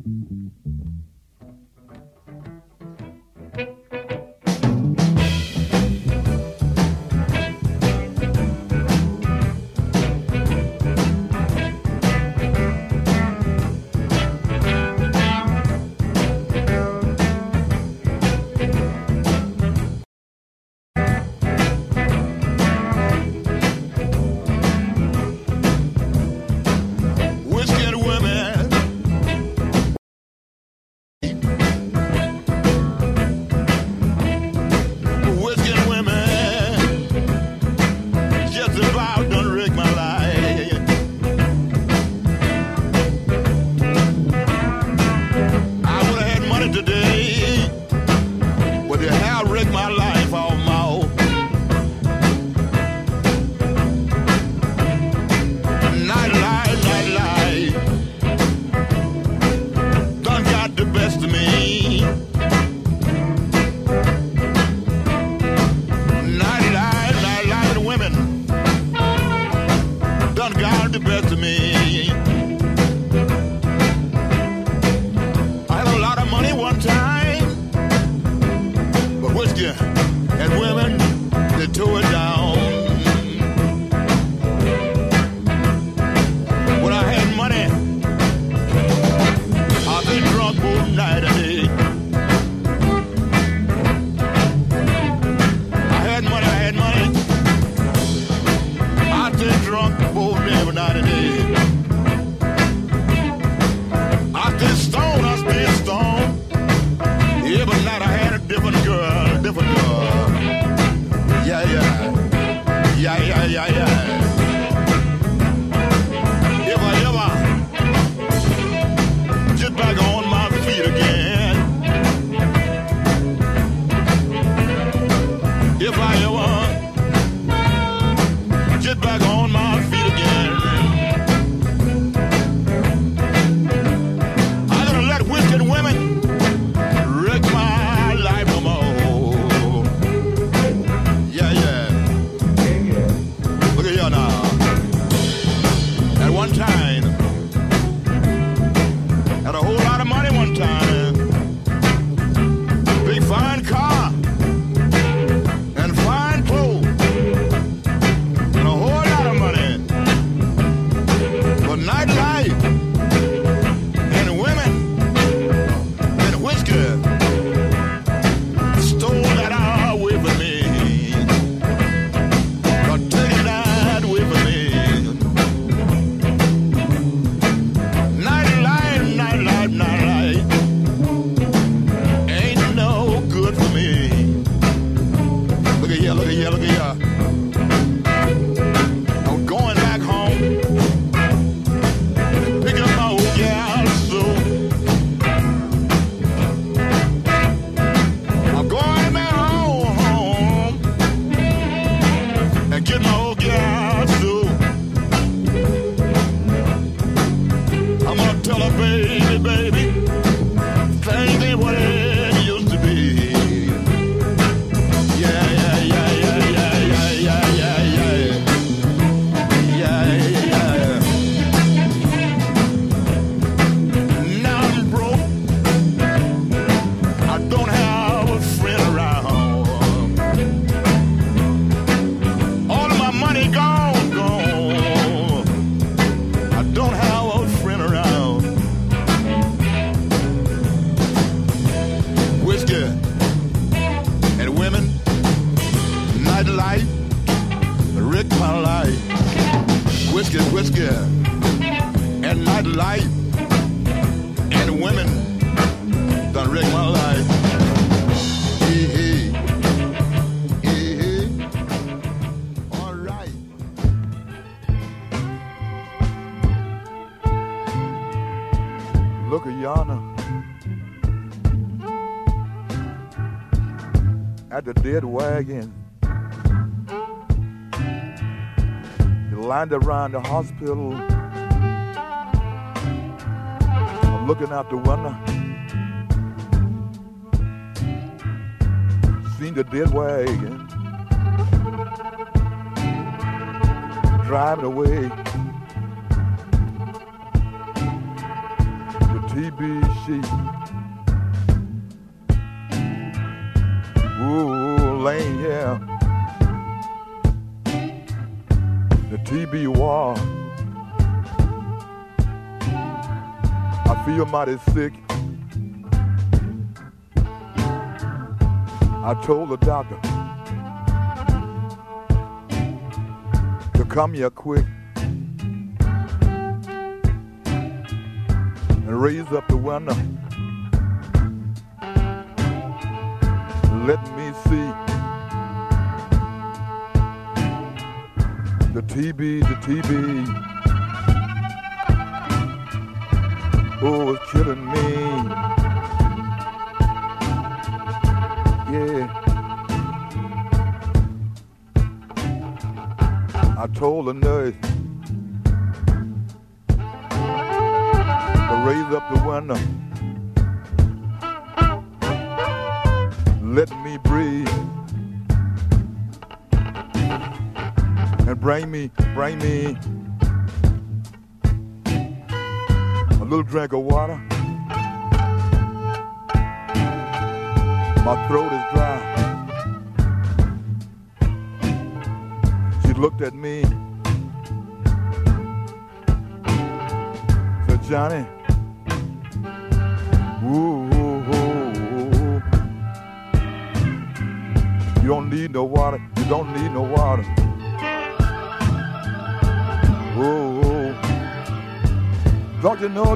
At the dead wagon, you lined around the hospital. I'm looking out the window, seen the dead wagon driving away. The TB sheet. Ooh, laying here. The TB wall. I feel mighty sick. I told the doctor to come here quick and raise up the window. Let me see the TB. Oh, it's killing me. Yeah. I told the nurse to raise up the window. Let me breathe. And bring me a little drink of water. My throat is dry. She looked at me. Said, Johnny, ooh, you don't need no water. You don't need no water. Oh, don't you know?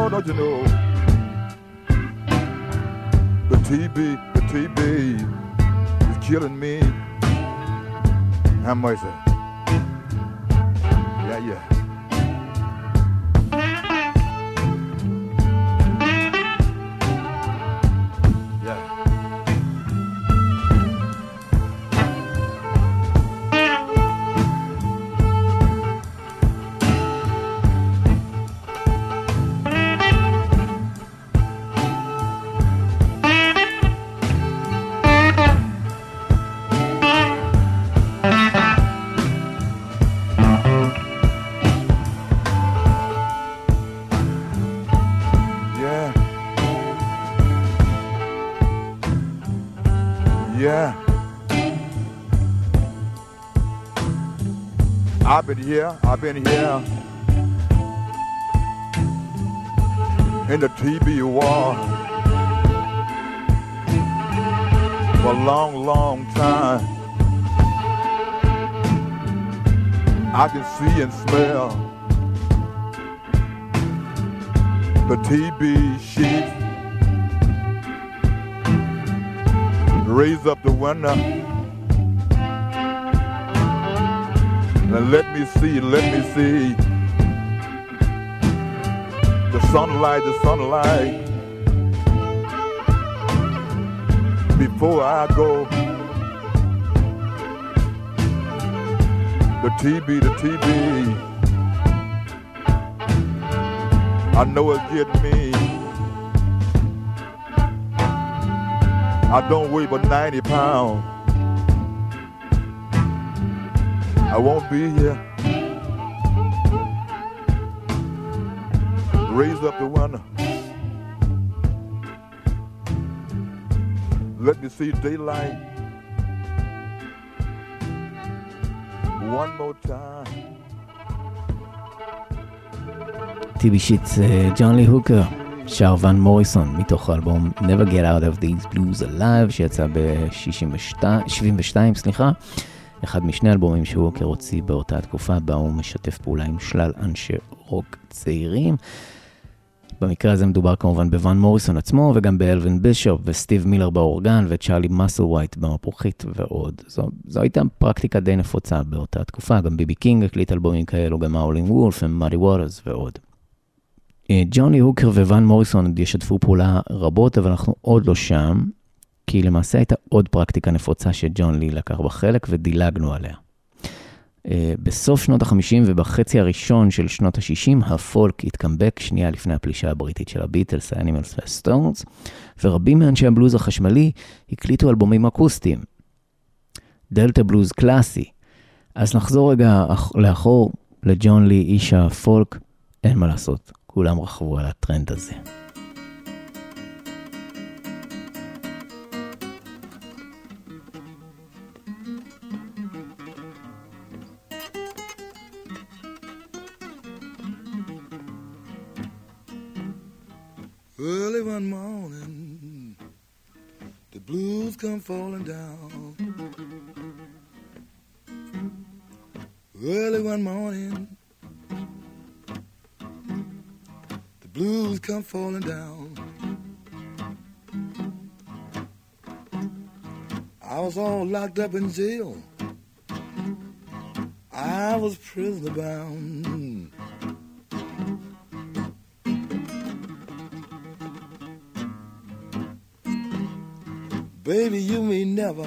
The TB is killing me. How much is it? Yeah. I've been here in the TB war for a long time. I can see and smell the TB sheet. Raise up the window. And let me see the sunlight before I go. The TB I know it's getting me. I don't weigh but 90 pounds. I won't be here. Raise up the window. Let me see daylight. One more time. TB שיט זה ג'ון לי הוקר, שר ון מוריסון, מתוך האלבום Never Get Out of These Blues Alive, שיצא ב-72, אחד משני אלבומים שהוא הוקר הוציא באותה התקופה, בה הוא משתף פעולה עם שלל אנשי רוק צעירים. במקרה הזה מדובר כמובן בוון מוריסון עצמו, וגם באלווין בישופ וסטיב מילר באורגן, וצ'ארלי מסלווייט במפוחית ועוד. זו הייתה פרקטיקה די נפוצה באותה תקופה, גם ביבי קינג הקליט אלבומים כאלו, גם האולינג וולף ומאדי ווטרס ועוד. ג'ון לי הוקר וון מוריסון ישתפו פעולה רבות, אבל אנחנו עוד לא שם, כי למעשה הייתה עוד פרקטיקה נפוצה שג'ון לי לקח בחלק ודילגנו עליה. בסוף שנות ה-50 ובחצי הראשון של שנות ה-60, הפולק התקמבק שנייה לפני הפלישה הבריטית של הביטלס, האנימלס והסטונס, ורבים מאנשי הבלוז החשמלי הקליטו אלבומים אקוסטיים. דלטה בלוז קלאסי. אז נחזור רגע לאחור לג'ון לי, איש הפולק, אין מה לעשות, כולם רכבו על הטרנד הזה. Early one morning, the blues come falling down. Early one morning, the blues come falling down. I was all locked up in jail. I was prisoner bound. Baby, you may never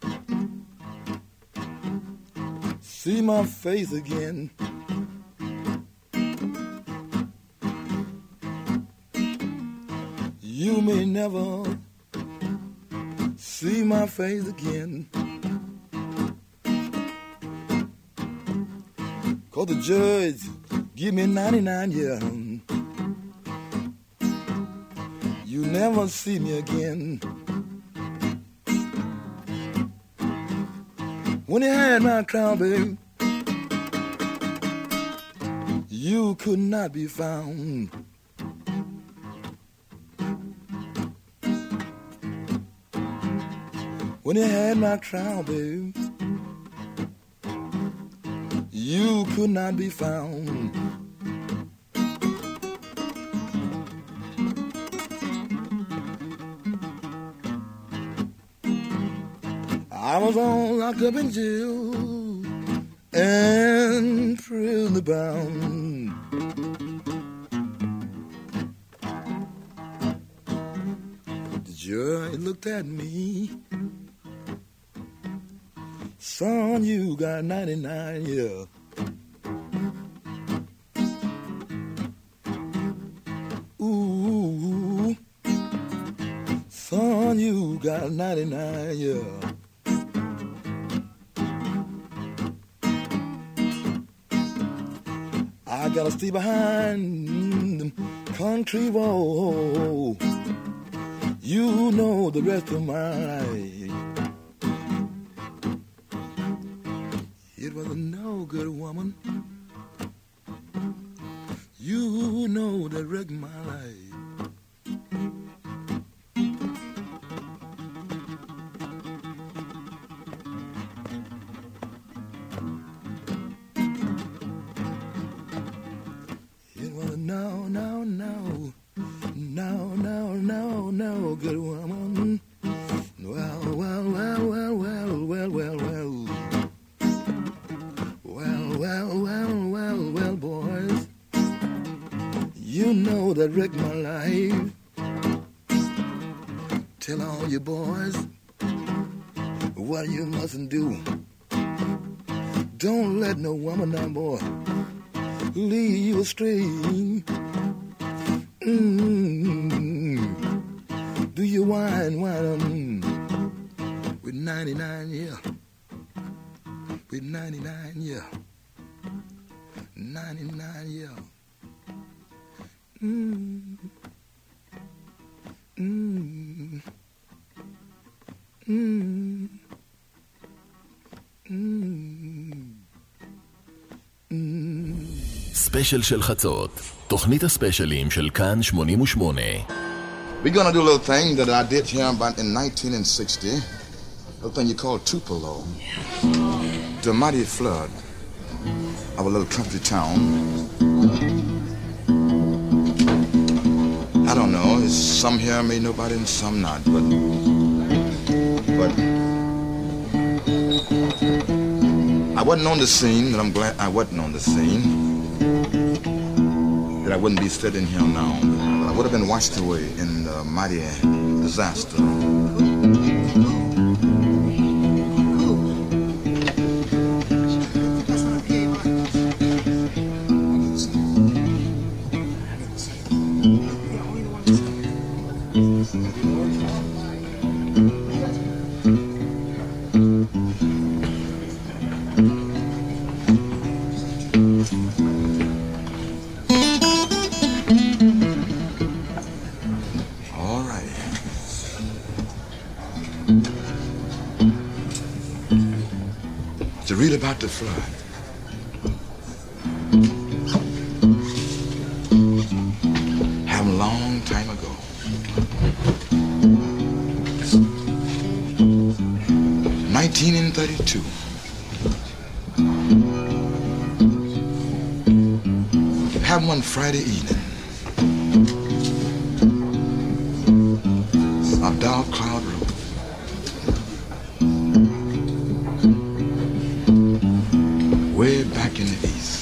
see my face again. You may never see my face again. 'Cause the judge give me 99 years. You never see me again. When you had my crown, baby, you could not be found. When you had my crown, baby, you could not be found. I was all locked up in jail and prisoner bound. The judge looked at me. Son, you got 99 years. Ooh, son, you got 99 years. I gotta stay behind them country wall. You know the rest of my life. It was a no good woman. You know that wrecked my life. No, good woman. Well, boys. You know that wrecked my life. Tell all your boys what you mustn't do. Don't let no woman, now, boy, lead you astray. Do you whine with 99 years? With 99 years. 99 years. ספיישל של חצות, תוכנית הספיישלים של כאן 88. We're going to do a little thing that I did here about in 1960. A little thing you call Tupelo. The mighty flood of a little country town. I don't know, it's some here may know about it and some not, but I wasn't on the scene, and I'm glad I wasn't on the scene, that I wouldn't be sitting here now. I would have been washed away in the mighty disaster. To read about the flood. Happened a long time ago. 1932. It happened one Friday evening. A dark cloud rose. Way back in the east.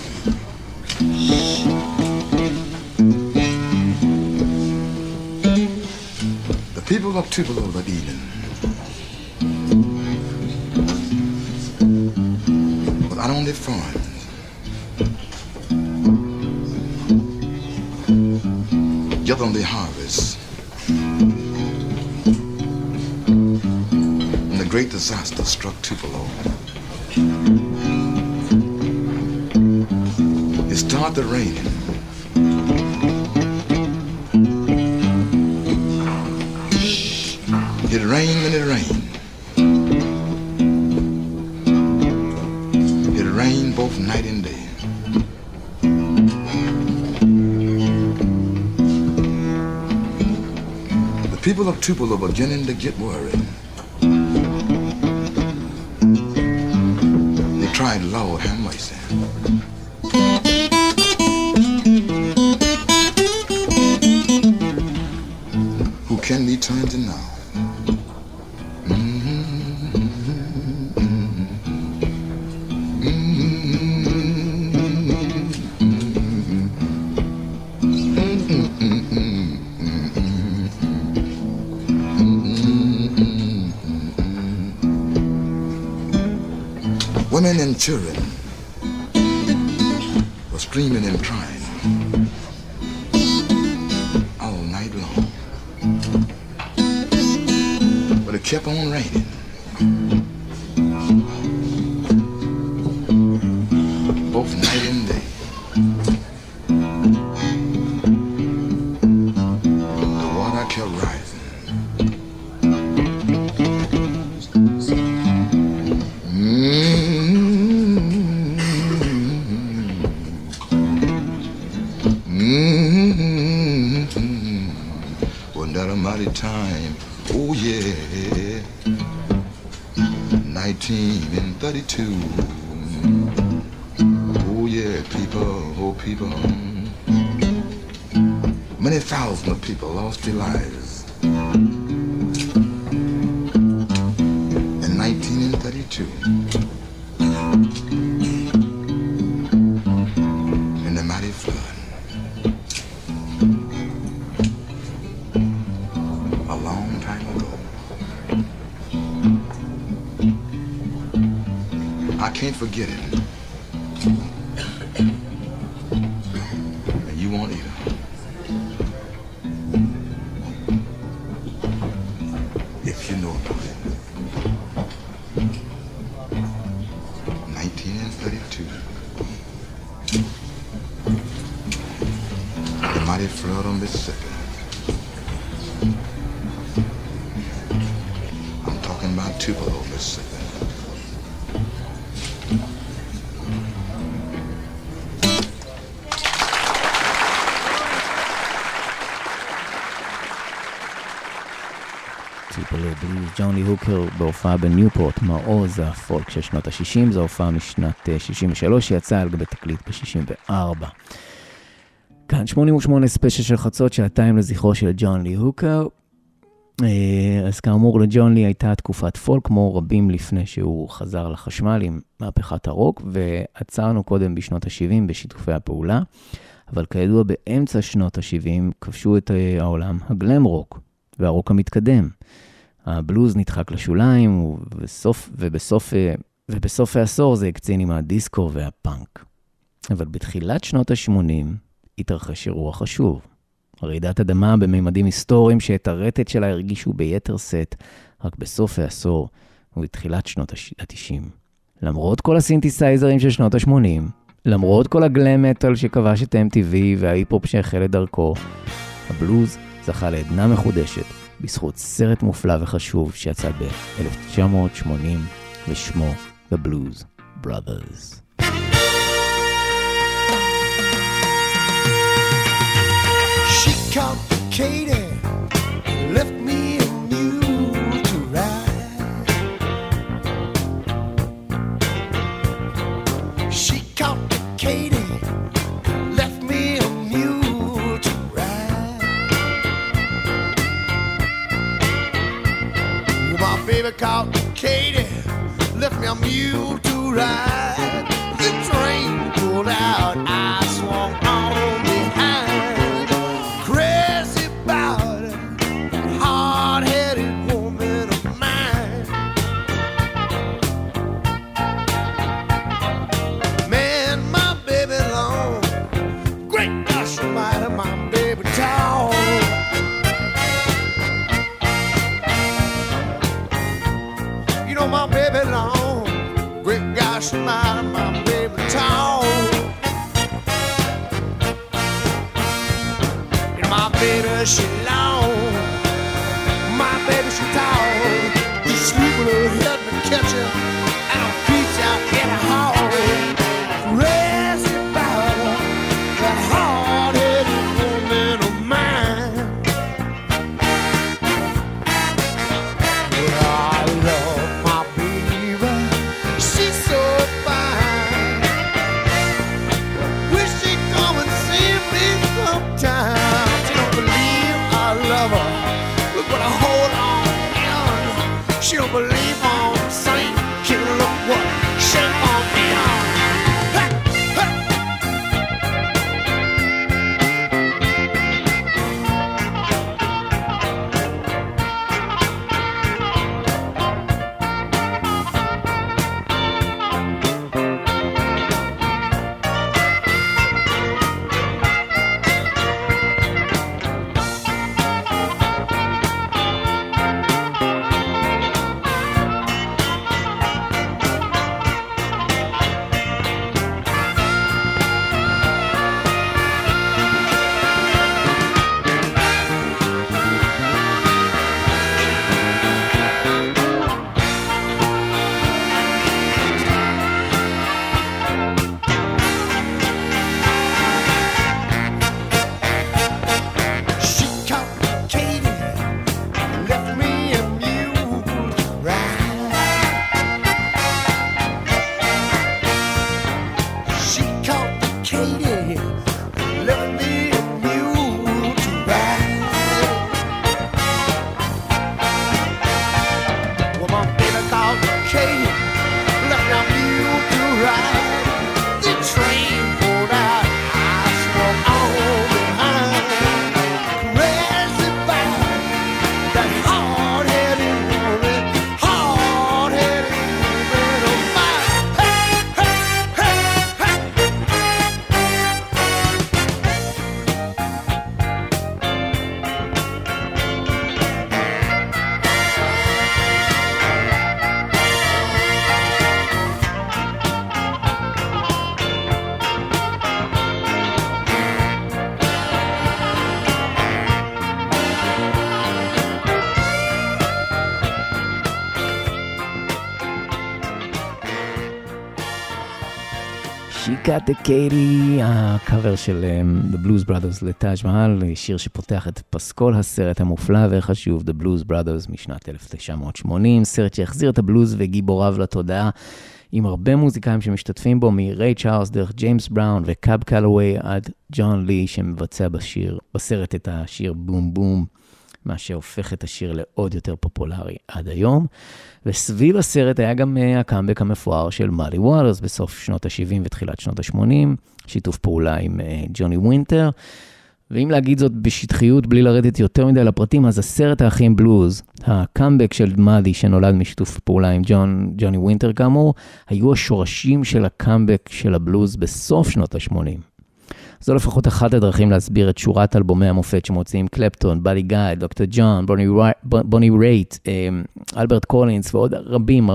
The people of Tupelo that evening was out on their farms. Gathered on their harvest. And the great disaster struck Tupelo. It started raining. It rained and it rained. It rained both night and day. The people of Tupelo were beginning to get worried. They tried, Lord, have mercy. Who can we turn to now? Women and children were screaming and crying all night long. But it kept on raining. Both night and day. The water kept rising. Wasn't that a mighty time? Oh yeah. 1932. Oh yeah, people, oh people. Many thousands of people lost their lives in 1932 in the mighty flood. A long time ago. I can't forget it. And you won't either. If you know about it. 1932. The mighty flood on Mississippi. I'm talking about Tupelo, Mississippi. טיפולי בלוז, ג'ון לי הוקר בהופעה בניופורט, מעוז הפולק של שנות ה-60, זו הופעה משנת 63 שיצאה על גבי תקליט ב-64. כאן 88 ספיישל של חצות, שעתיים לזכרו של ג'ון לי הוקר. אז כאמור, לג'ון לי הייתה תקופת פולק כמו רבים לפני שהוא חזר לחשמל עם מהפכת הרוק, ועצרנו קודם בשנות ה-70 בשיתופי הפעולה, אבל כידוע באמצע שנות ה-70 כבשו את העולם הגלם רוק והרוק המתקדם. הבלוז נדחק לשוליים, ובסוף העשור זה הקצין עם הדיסקו והפאנק. אבל בתחילת שנות ה-80 התרחש אירוע חשוב. רעידת אדמה בממדים היסטוריים שאת הרטט שלה הרגישו ביתר סט רק בסוף העשור ובתחילת שנות ה-90. למרות כל הסינתסייזרים של שנות ה-80, למרות כל הגלם מטל שכבש את MTV וההיפ-הופ שהחל את דרכו, הבלוז זכה לעדנה מחודשת בזכות סרט מופלא וחשוב שיצא ב-1980 ושמו The Blues Brothers. She complicated, left me and you to ride. baby called Katie left me a mule to ride. The train pulled out, I swung on behind. Crazy about it, hard-headed woman of mine. Man, my baby long, great gosh almighty, my baby tall. You know my baby long, great gosh almighty, my baby tall. You know my baby she long, my baby she tall. You sleep with her head and catch her, and I'll beat you out in the hall. Crazy about her, that hard-headed woman of mine. Well, I love my baby, she's so fine. Wish she'd come and see me sometime. She don't believe I love her. Look what I hold on in. She don't believe I'm a saint. She look what shape I'm in. Hey, hey. She caught Katie, left me a mule to ride. She caught Katie, left me a mule to ride. Well, my baby called Katie, left me a mule to ride. The train pulled out, I swung on behind. Crazy about that hard-headed woman of mine. Hey, hey, hey, She Got the Katie, הקאבר של The Blues Brothers לטאג' מהל, שיר שפותח את פסקול הסרט המופלא וחשוב The Blues Brothers משנת 1980, סרט שהחזיר את הבלוז וגיבוריו לתודעה, עם הרבה מוזיקאים שמשתתפים בו, מריי צ'ארלס דרך ג'יימס בראון וקאב קלווי עד ג'ון לי שמבצע בסרט את השיר בום בום, מה שהופך את השיר לעוד יותר פופולרי עד היום. וסביב הסרט היה גם הקאמבק המפואר של מאלי ווטרס בסוף שנות ה-70 ותחילת שנות ה-80, שיתוף פעולה עם ג'וני ווינטר. ואם להגיד זאת בשטחיות בלי לרדת יותר מדי לפרטים, אז הסרט האחים בלוז, הקאמבק של מאלי שנולד משיתוף פעולה עם ג'וני ווינטר כאמור, היו השורשים של הקאמבק של הבלוז בסוף שנות ה-80. זו לפחות אחת הדרכים להסביר את שורת אלבומי המופת שמוצאים קלפטון, באדי גאי, דוקטור ג'ון, בוני רייט, אלברט קולינס ועוד רבים.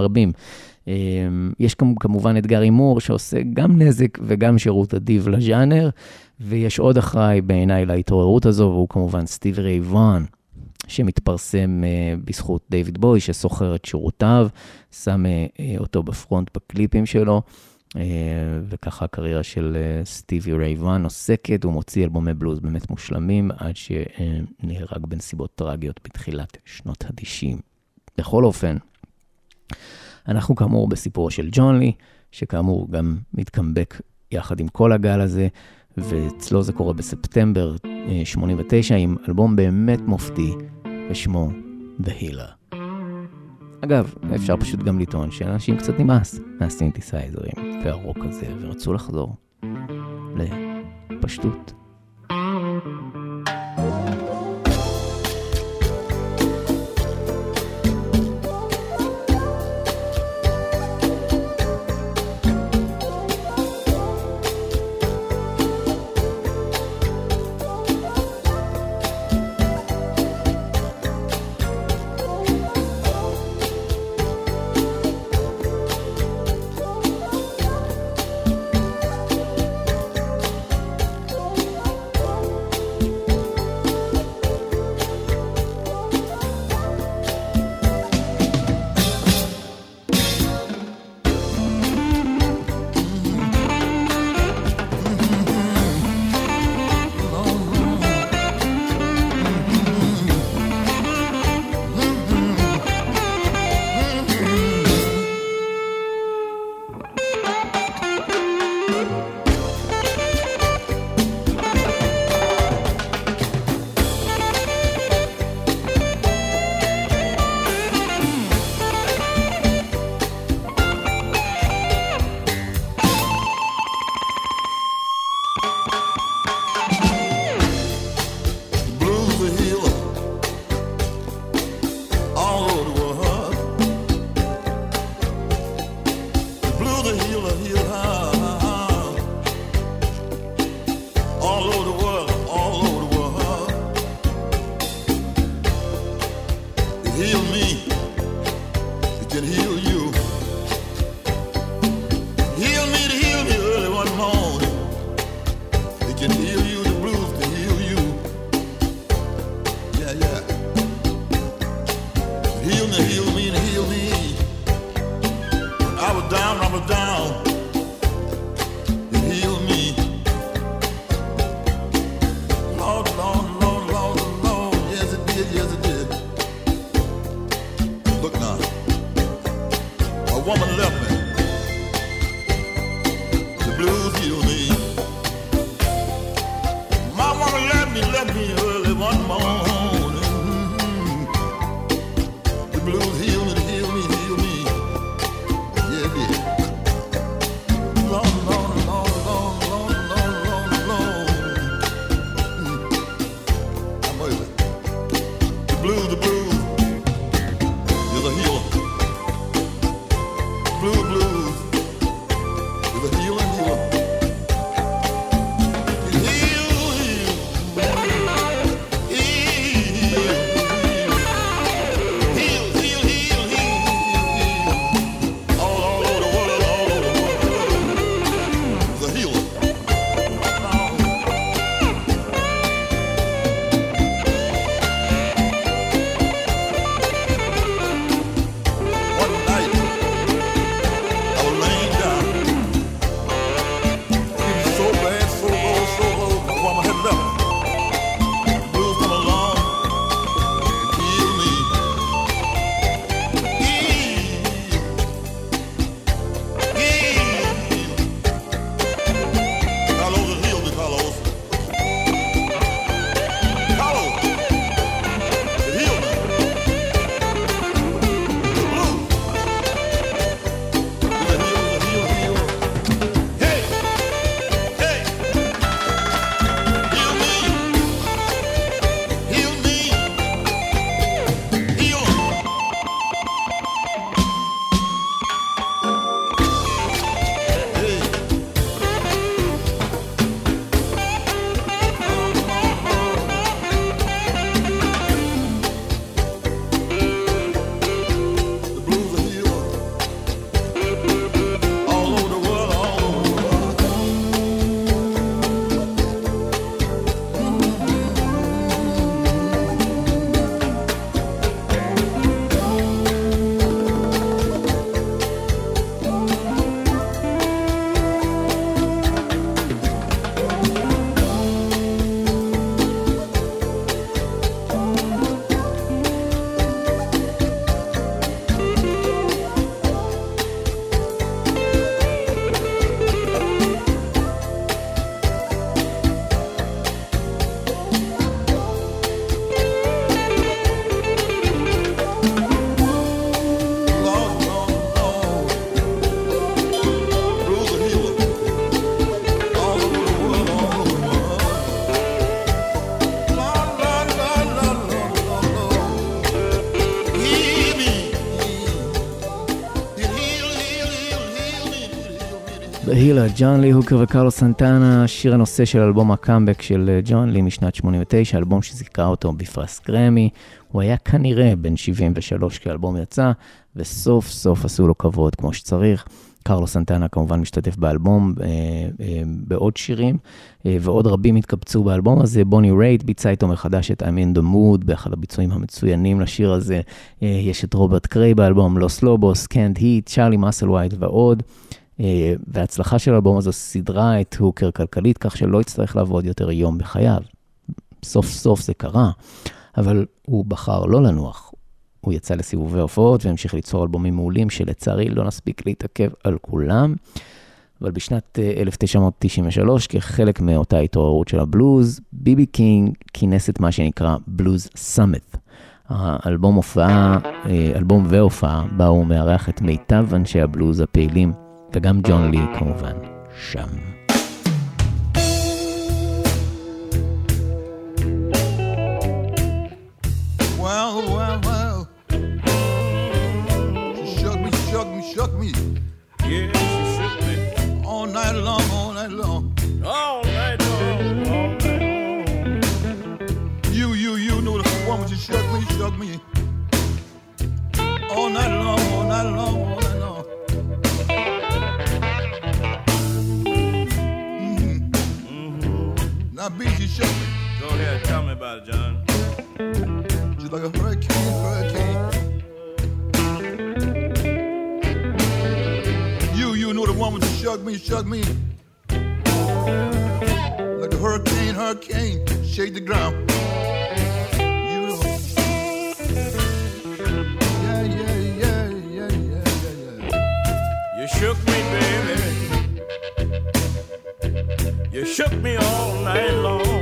יש כמובן את גארי מור שעושה גם נזק וגם שירות אדיב לז'אנר, ויש עוד אחראי בעיניי להתעוררות הזו, והוא כמובן סטיב ריי וואן, שמתפרסם בזכות דיוויד בוי שסוחר את שירותיו, שם אותו בפרונט בקליפים שלו, וככה הקריירה של סטיבי ריי וואן עוסקת, הוא מוציא אלבומי בלוז באמת מושלמים, עד שנהרג בנסיבות טרגיות בתחילת שנות ה-90. בכל אופן, אנחנו כאמור בסיפורו של ג'ון לי, שכאמור גם מתקמבק יחד עם כל הגל הזה, ואצלו זה קורה בספטמבר 89, עם אלבום באמת מופתי, ושמו The Healer. אגב, אפשר פשוט גם לטעון שאנשים קצת נמאס מהסינתסייזרים והרוק הזה, ורצו לחזור לפשטות. בהילה, ג'ון לי הוקר וקרלוס סנטנה, שיר הנושא של אלבום הקאמבק של ג'ון לי משנת 89, אלבום שזיכה אותו בפרס גרמי. הוא היה כנראה בן 73 כאלבום יצא, וסוף סוף עשו לו כבוד כמו שצריך. קרלוס סנטנה כמובן משתתף באלבום בעוד שירים, ועוד רבים התקבצו באלבום הזה. בוני רייט ביצע איתו מחדש את I'm in the mood, באחד הביצועים המצוינים לשיר הזה. יש את רוברט קריי באלבום, לוס לובוס, קנט היט, צ'ארלי מסלווייט ועוד. וההצלחה של האלבום הזו סדרה את הוקר כלכלית, כך שלא יצטרך לעבוד יותר יום בחייו. סוף סוף זה קרה, אבל הוא בחר לא לנוח. הוא יצא לסיבובי הופעות והמשיך ליצור אלבומים מעולים שלצערי לא נספיק להתעכב על כולם. אבל בשנת 1993, כחלק מאותה התעוררות של הבלוז, ביבי קינג כינס את מה שנקרא בלוז סאמית. האלבום והופעה בה הוא מארח את מיטב אנשי הבלוז הפעילים, וגם ג'ון לי כמובן שם. Shook me. Yeah, she shook me. All night long, all night long. All night long, all night long. You know the woman, she shook me. All night long, all night long, all night long. Now, B, she shook me. Go ahead, tell me about it, John. Just like a hurricane. You know the woman that shook me. Like a hurricane, shake the ground. You know. Yeah. You shook me, baby. You shook me all night long.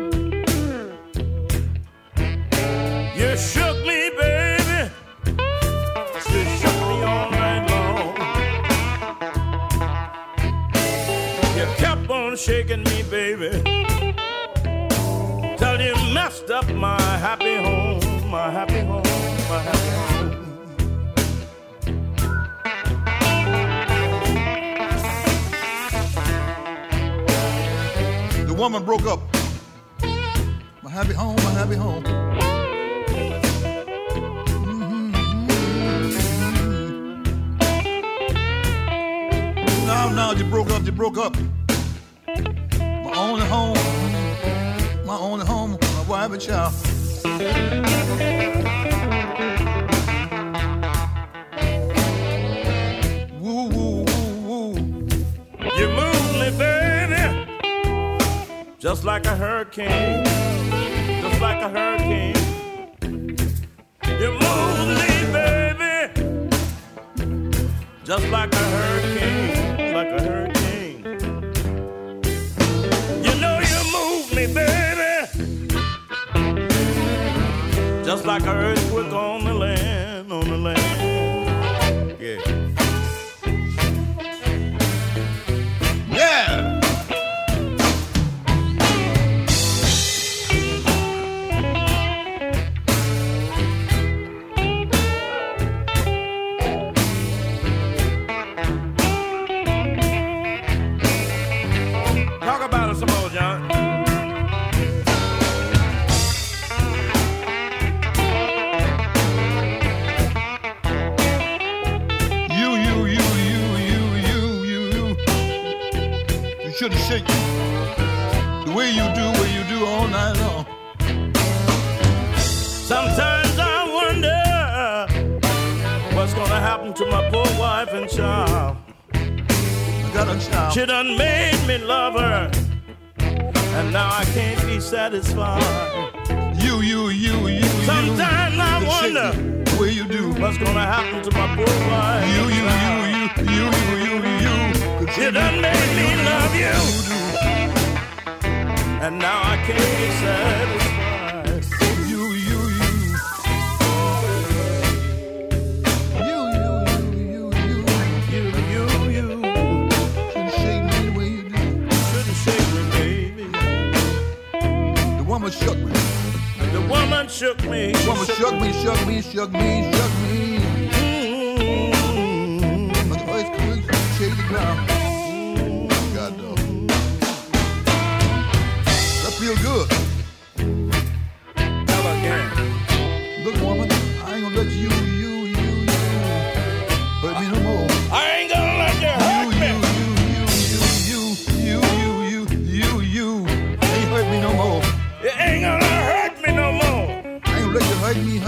You shook me, baby. You shook me all night long. You kept on shaking me, baby, till you messed up my happy home, my happy home, my happy home. The woman broke up. My happy home, my happy home. Now you broke up. My only home, my wife and child. Woo, woo, woo, woo. You moved me, baby, just like a hurricane, just like a hurricane. You moved me, baby, just like a hurricane, like a hurricane. You know you moved me, baby, just like an earthquake on the land, on the land. Yeah. Yeah. Talk about it some more, John. You shouldn't shake the way you do all night long. Sometimes I wonder what's gonna happen to my poor wife and child. I got a child. She done made me love her, and now I can't be satisfied. You. Sometimes I wonder the way you do what's gonna happen to my poor wife. You. You done made me love you, and now I can't be satisfied. You. Shouldn't shake me the way you do. Shouldn't shake me, baby. The woman shook me. The woman shook me. The woman shook me. Like the earthquake, shake the ground.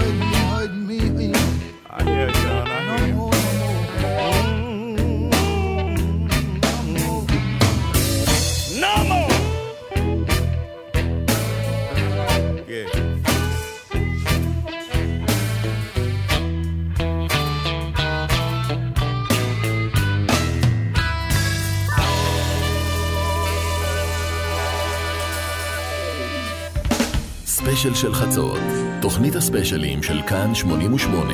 hurting me. I hear you, John. I hear you. No more. Yeah. ספיישל של חצות, תוכנית הספיישלים של כאן 88.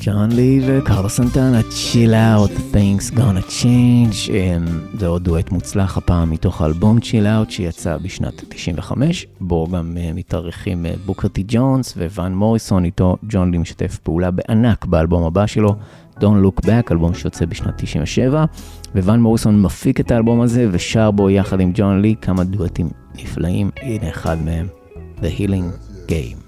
ג'ון לי וקרלוס סנטנה, Chill Out, Things Gonna Change. זה עוד דואט מוצלח הפעם מתוך האלבום Chill Out שיצא בשנת 95, בו גם מתארחים בוקר טי ג'ונס וואן מוריסון. איתו ג'ון לי משתף פעולה בענק באלבום הבא שלו, Don't Look Back, אלבום שיוצא בשנת 97, וואן מוריסון מפיק את האלבום הזה ושר בו יחד עם ג'ון לי כמה דואטים נפלאים. הנה אחד מהם, The Healing Game.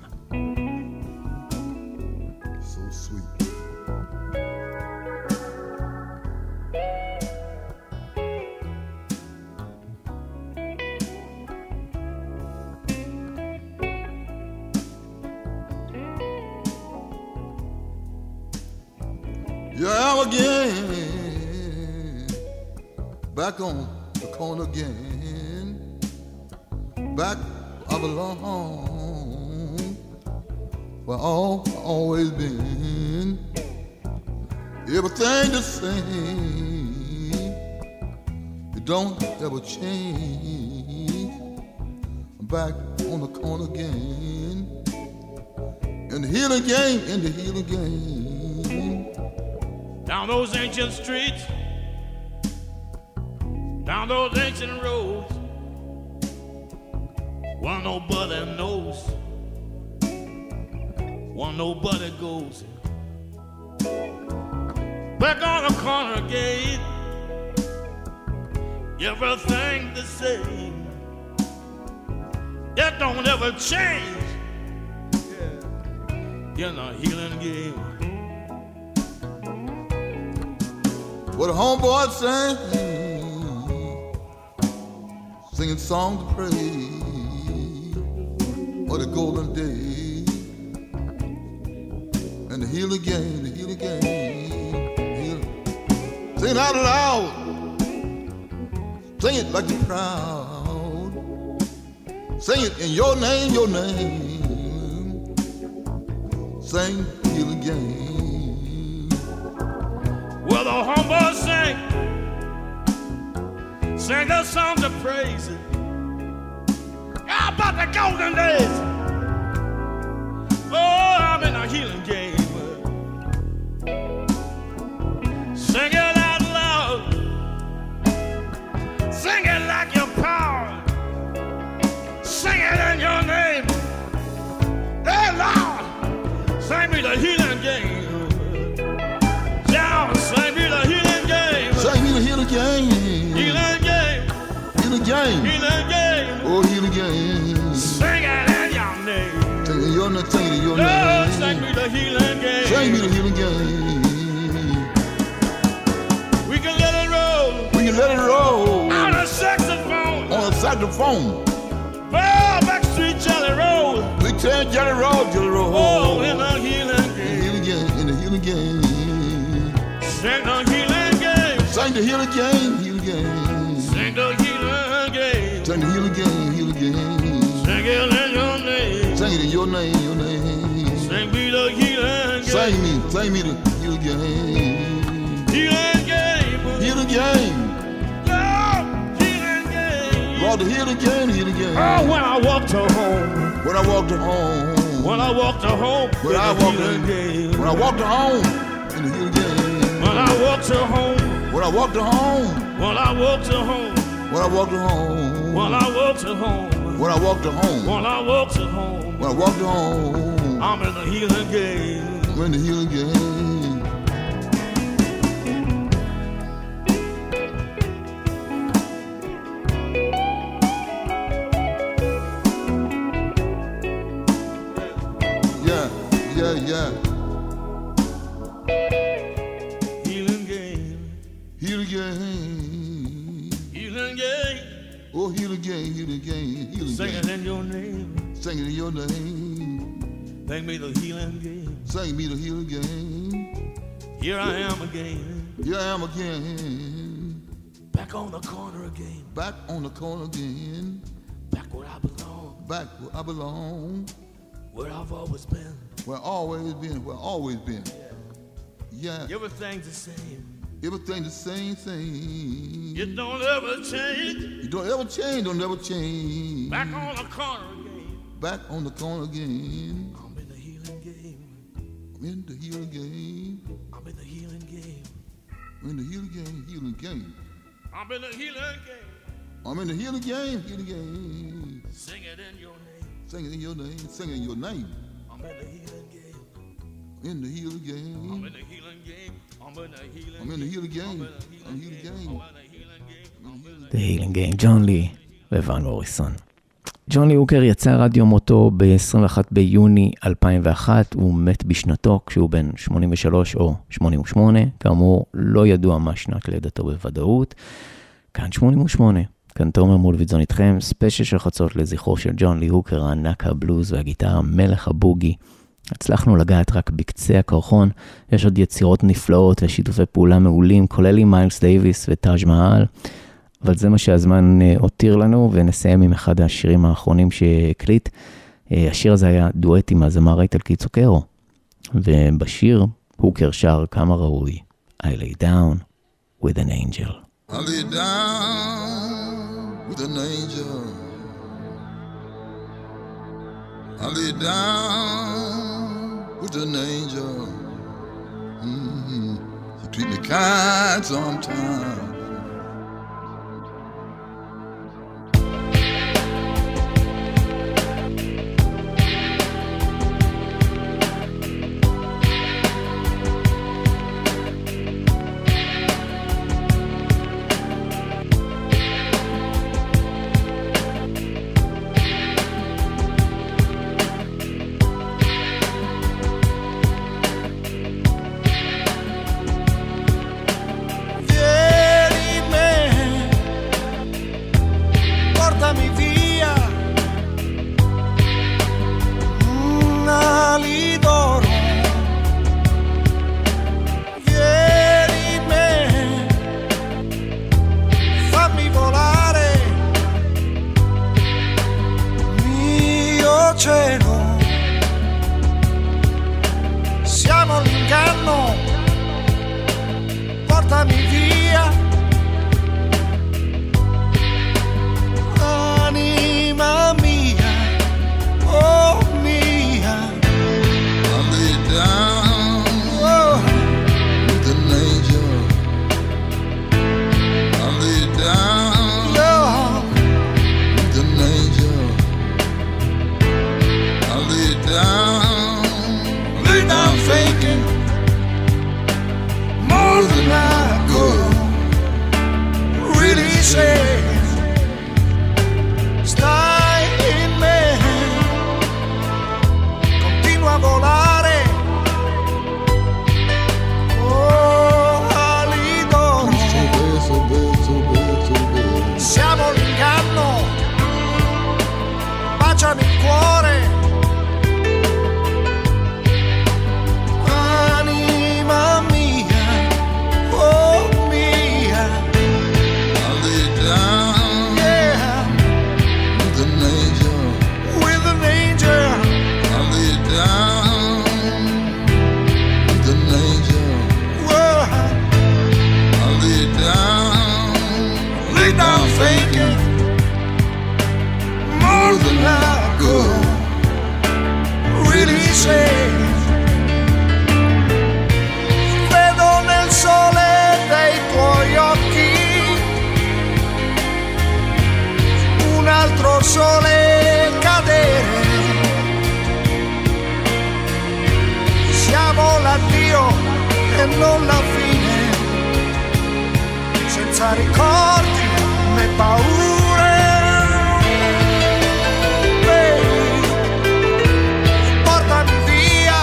Yeah, I'm again, back on the corner again, back I belong, where I've always been, everything the same, it don't ever change, I'm back on the corner again, in the healing game, in the healing game. Down those ancient streets, down those ancient roads, one nobody knows, one nobody goes. Back on the corner gate, everything the same, it don't ever change, in the healing game. What the homeboys sing, singing songs of praise for the golden day, and the healing game, the healing game. Sing it out loud, sing it like you're proud, sing it in your name, sing healing game. Well, the homeboys sing their songs of praise about the golden days. Oh, I'm in a healing game. Sing it out loud, sing it like your power, sing it in your name. Hey, Lord, sing me the healing game. Sing me the healing game. Sing me the healing game. Healing game. Healing game. Healing game. Oh, healing game. Sing it in your name. Sing it in your name. Sing it in your Lord, name. sing me the healing game. Sing me the healing game. We can let it roll. We can let it roll. On a saxophone. On a saxophone. Oh, Backstreet Jelly Roll. We tell Jelly Roll, Jelly Roll. Oh, in the healing game. In the healing game. In the healing game. Sing the healing game. Sing the healing game, healing game. Sing the healing game. Sing the healing game, healing game. Sing it in your name. Sing it in your name, your name. Sing me the healing game. Sing me the healing game. Healing game. Healing game. Lord, healing game. Lord, the healing game, healing game. Oh, when I walk to home. When I walk to home. When I walk to home. When I walk to home. When I walk to home. In the healing game. When I walk to home. When I walk to home. When I walk to home. When I walk to home. When I walk to home. When I walk to home. When I walk to home. When I walk to home. I'm in the healing game. I'm in the healing game. Yeah. Healing game. Healing game. Healing game. Oh, healing game, healing game, healing Sing game. it in your name. Sing it in your name. Sing me the healing game. Sing me the healing game. Here I am again. Here I am again. Back on the corner again. Back on the corner again. Back where I belong. Back where I belong. Where I've always been. Where I've always been. Where I've always been. Yeah. Everything's the same. Everything the same thing. You don't ever change. You don't ever change. Don't ever change. Back on the corner again. Back on the corner again. I'm in the healing game. I'm in the healing game. I'm in the healing game. In the healing game, healing game. I'm in the healing game. I'm in the healing game, healing game. Sing it in your name. Sing it in your name, sing it in your name. I'm in the healing game. In the healing game. I'm in the healing game. I'm in the healing game. I'm in the healing game. I'm in the healing game. The Healing Game, ג'ון לי וואן מוריסון. ג'ון לי הוקר יצא רדיו מותו ב-21 ביוני 2001, הוא מת בשנתו כשהוא בן 83 או 88, כאמור לא ידוע מה שנת לידתו בוודאות. כאן 88, כאן תומר מולביטזון איתכם, ספיישל של חצות לזכרו של ג'ון לי הוקר, הענק הבלוז והגיטרה, מלך הבוגי. הצלחנו לגעת רק בקצה הקרחון, יש עוד יצירות נפלאות ושיתופי פעולה מעולים, כולל עם מיילס דייביס וטאג' מהל, אבל זה מה שהזמן הותיר לנו, ונסיים עם אחד השירים האחרונים שהקליט. השיר הזה היה דואט עם הזמר האיטלקי צוקרו, ובשיר הוקר שר כמה ראוי, I lay down with an angel. I lay down with an angel. I lay down with an angel. You treat me kind sometimes. Sole cadere, siamo l'addio e non la fine, senza ricordi né paure. Portami via,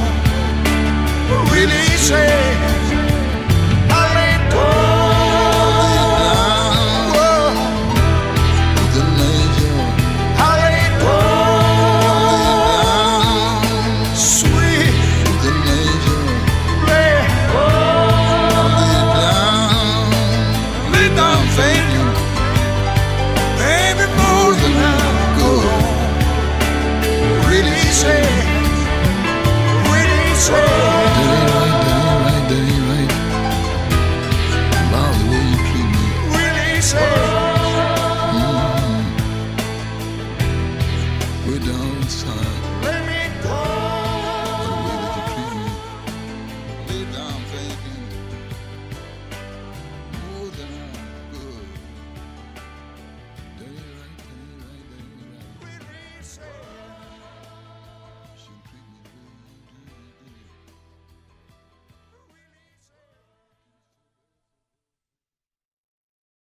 really say I lay down. sunshine.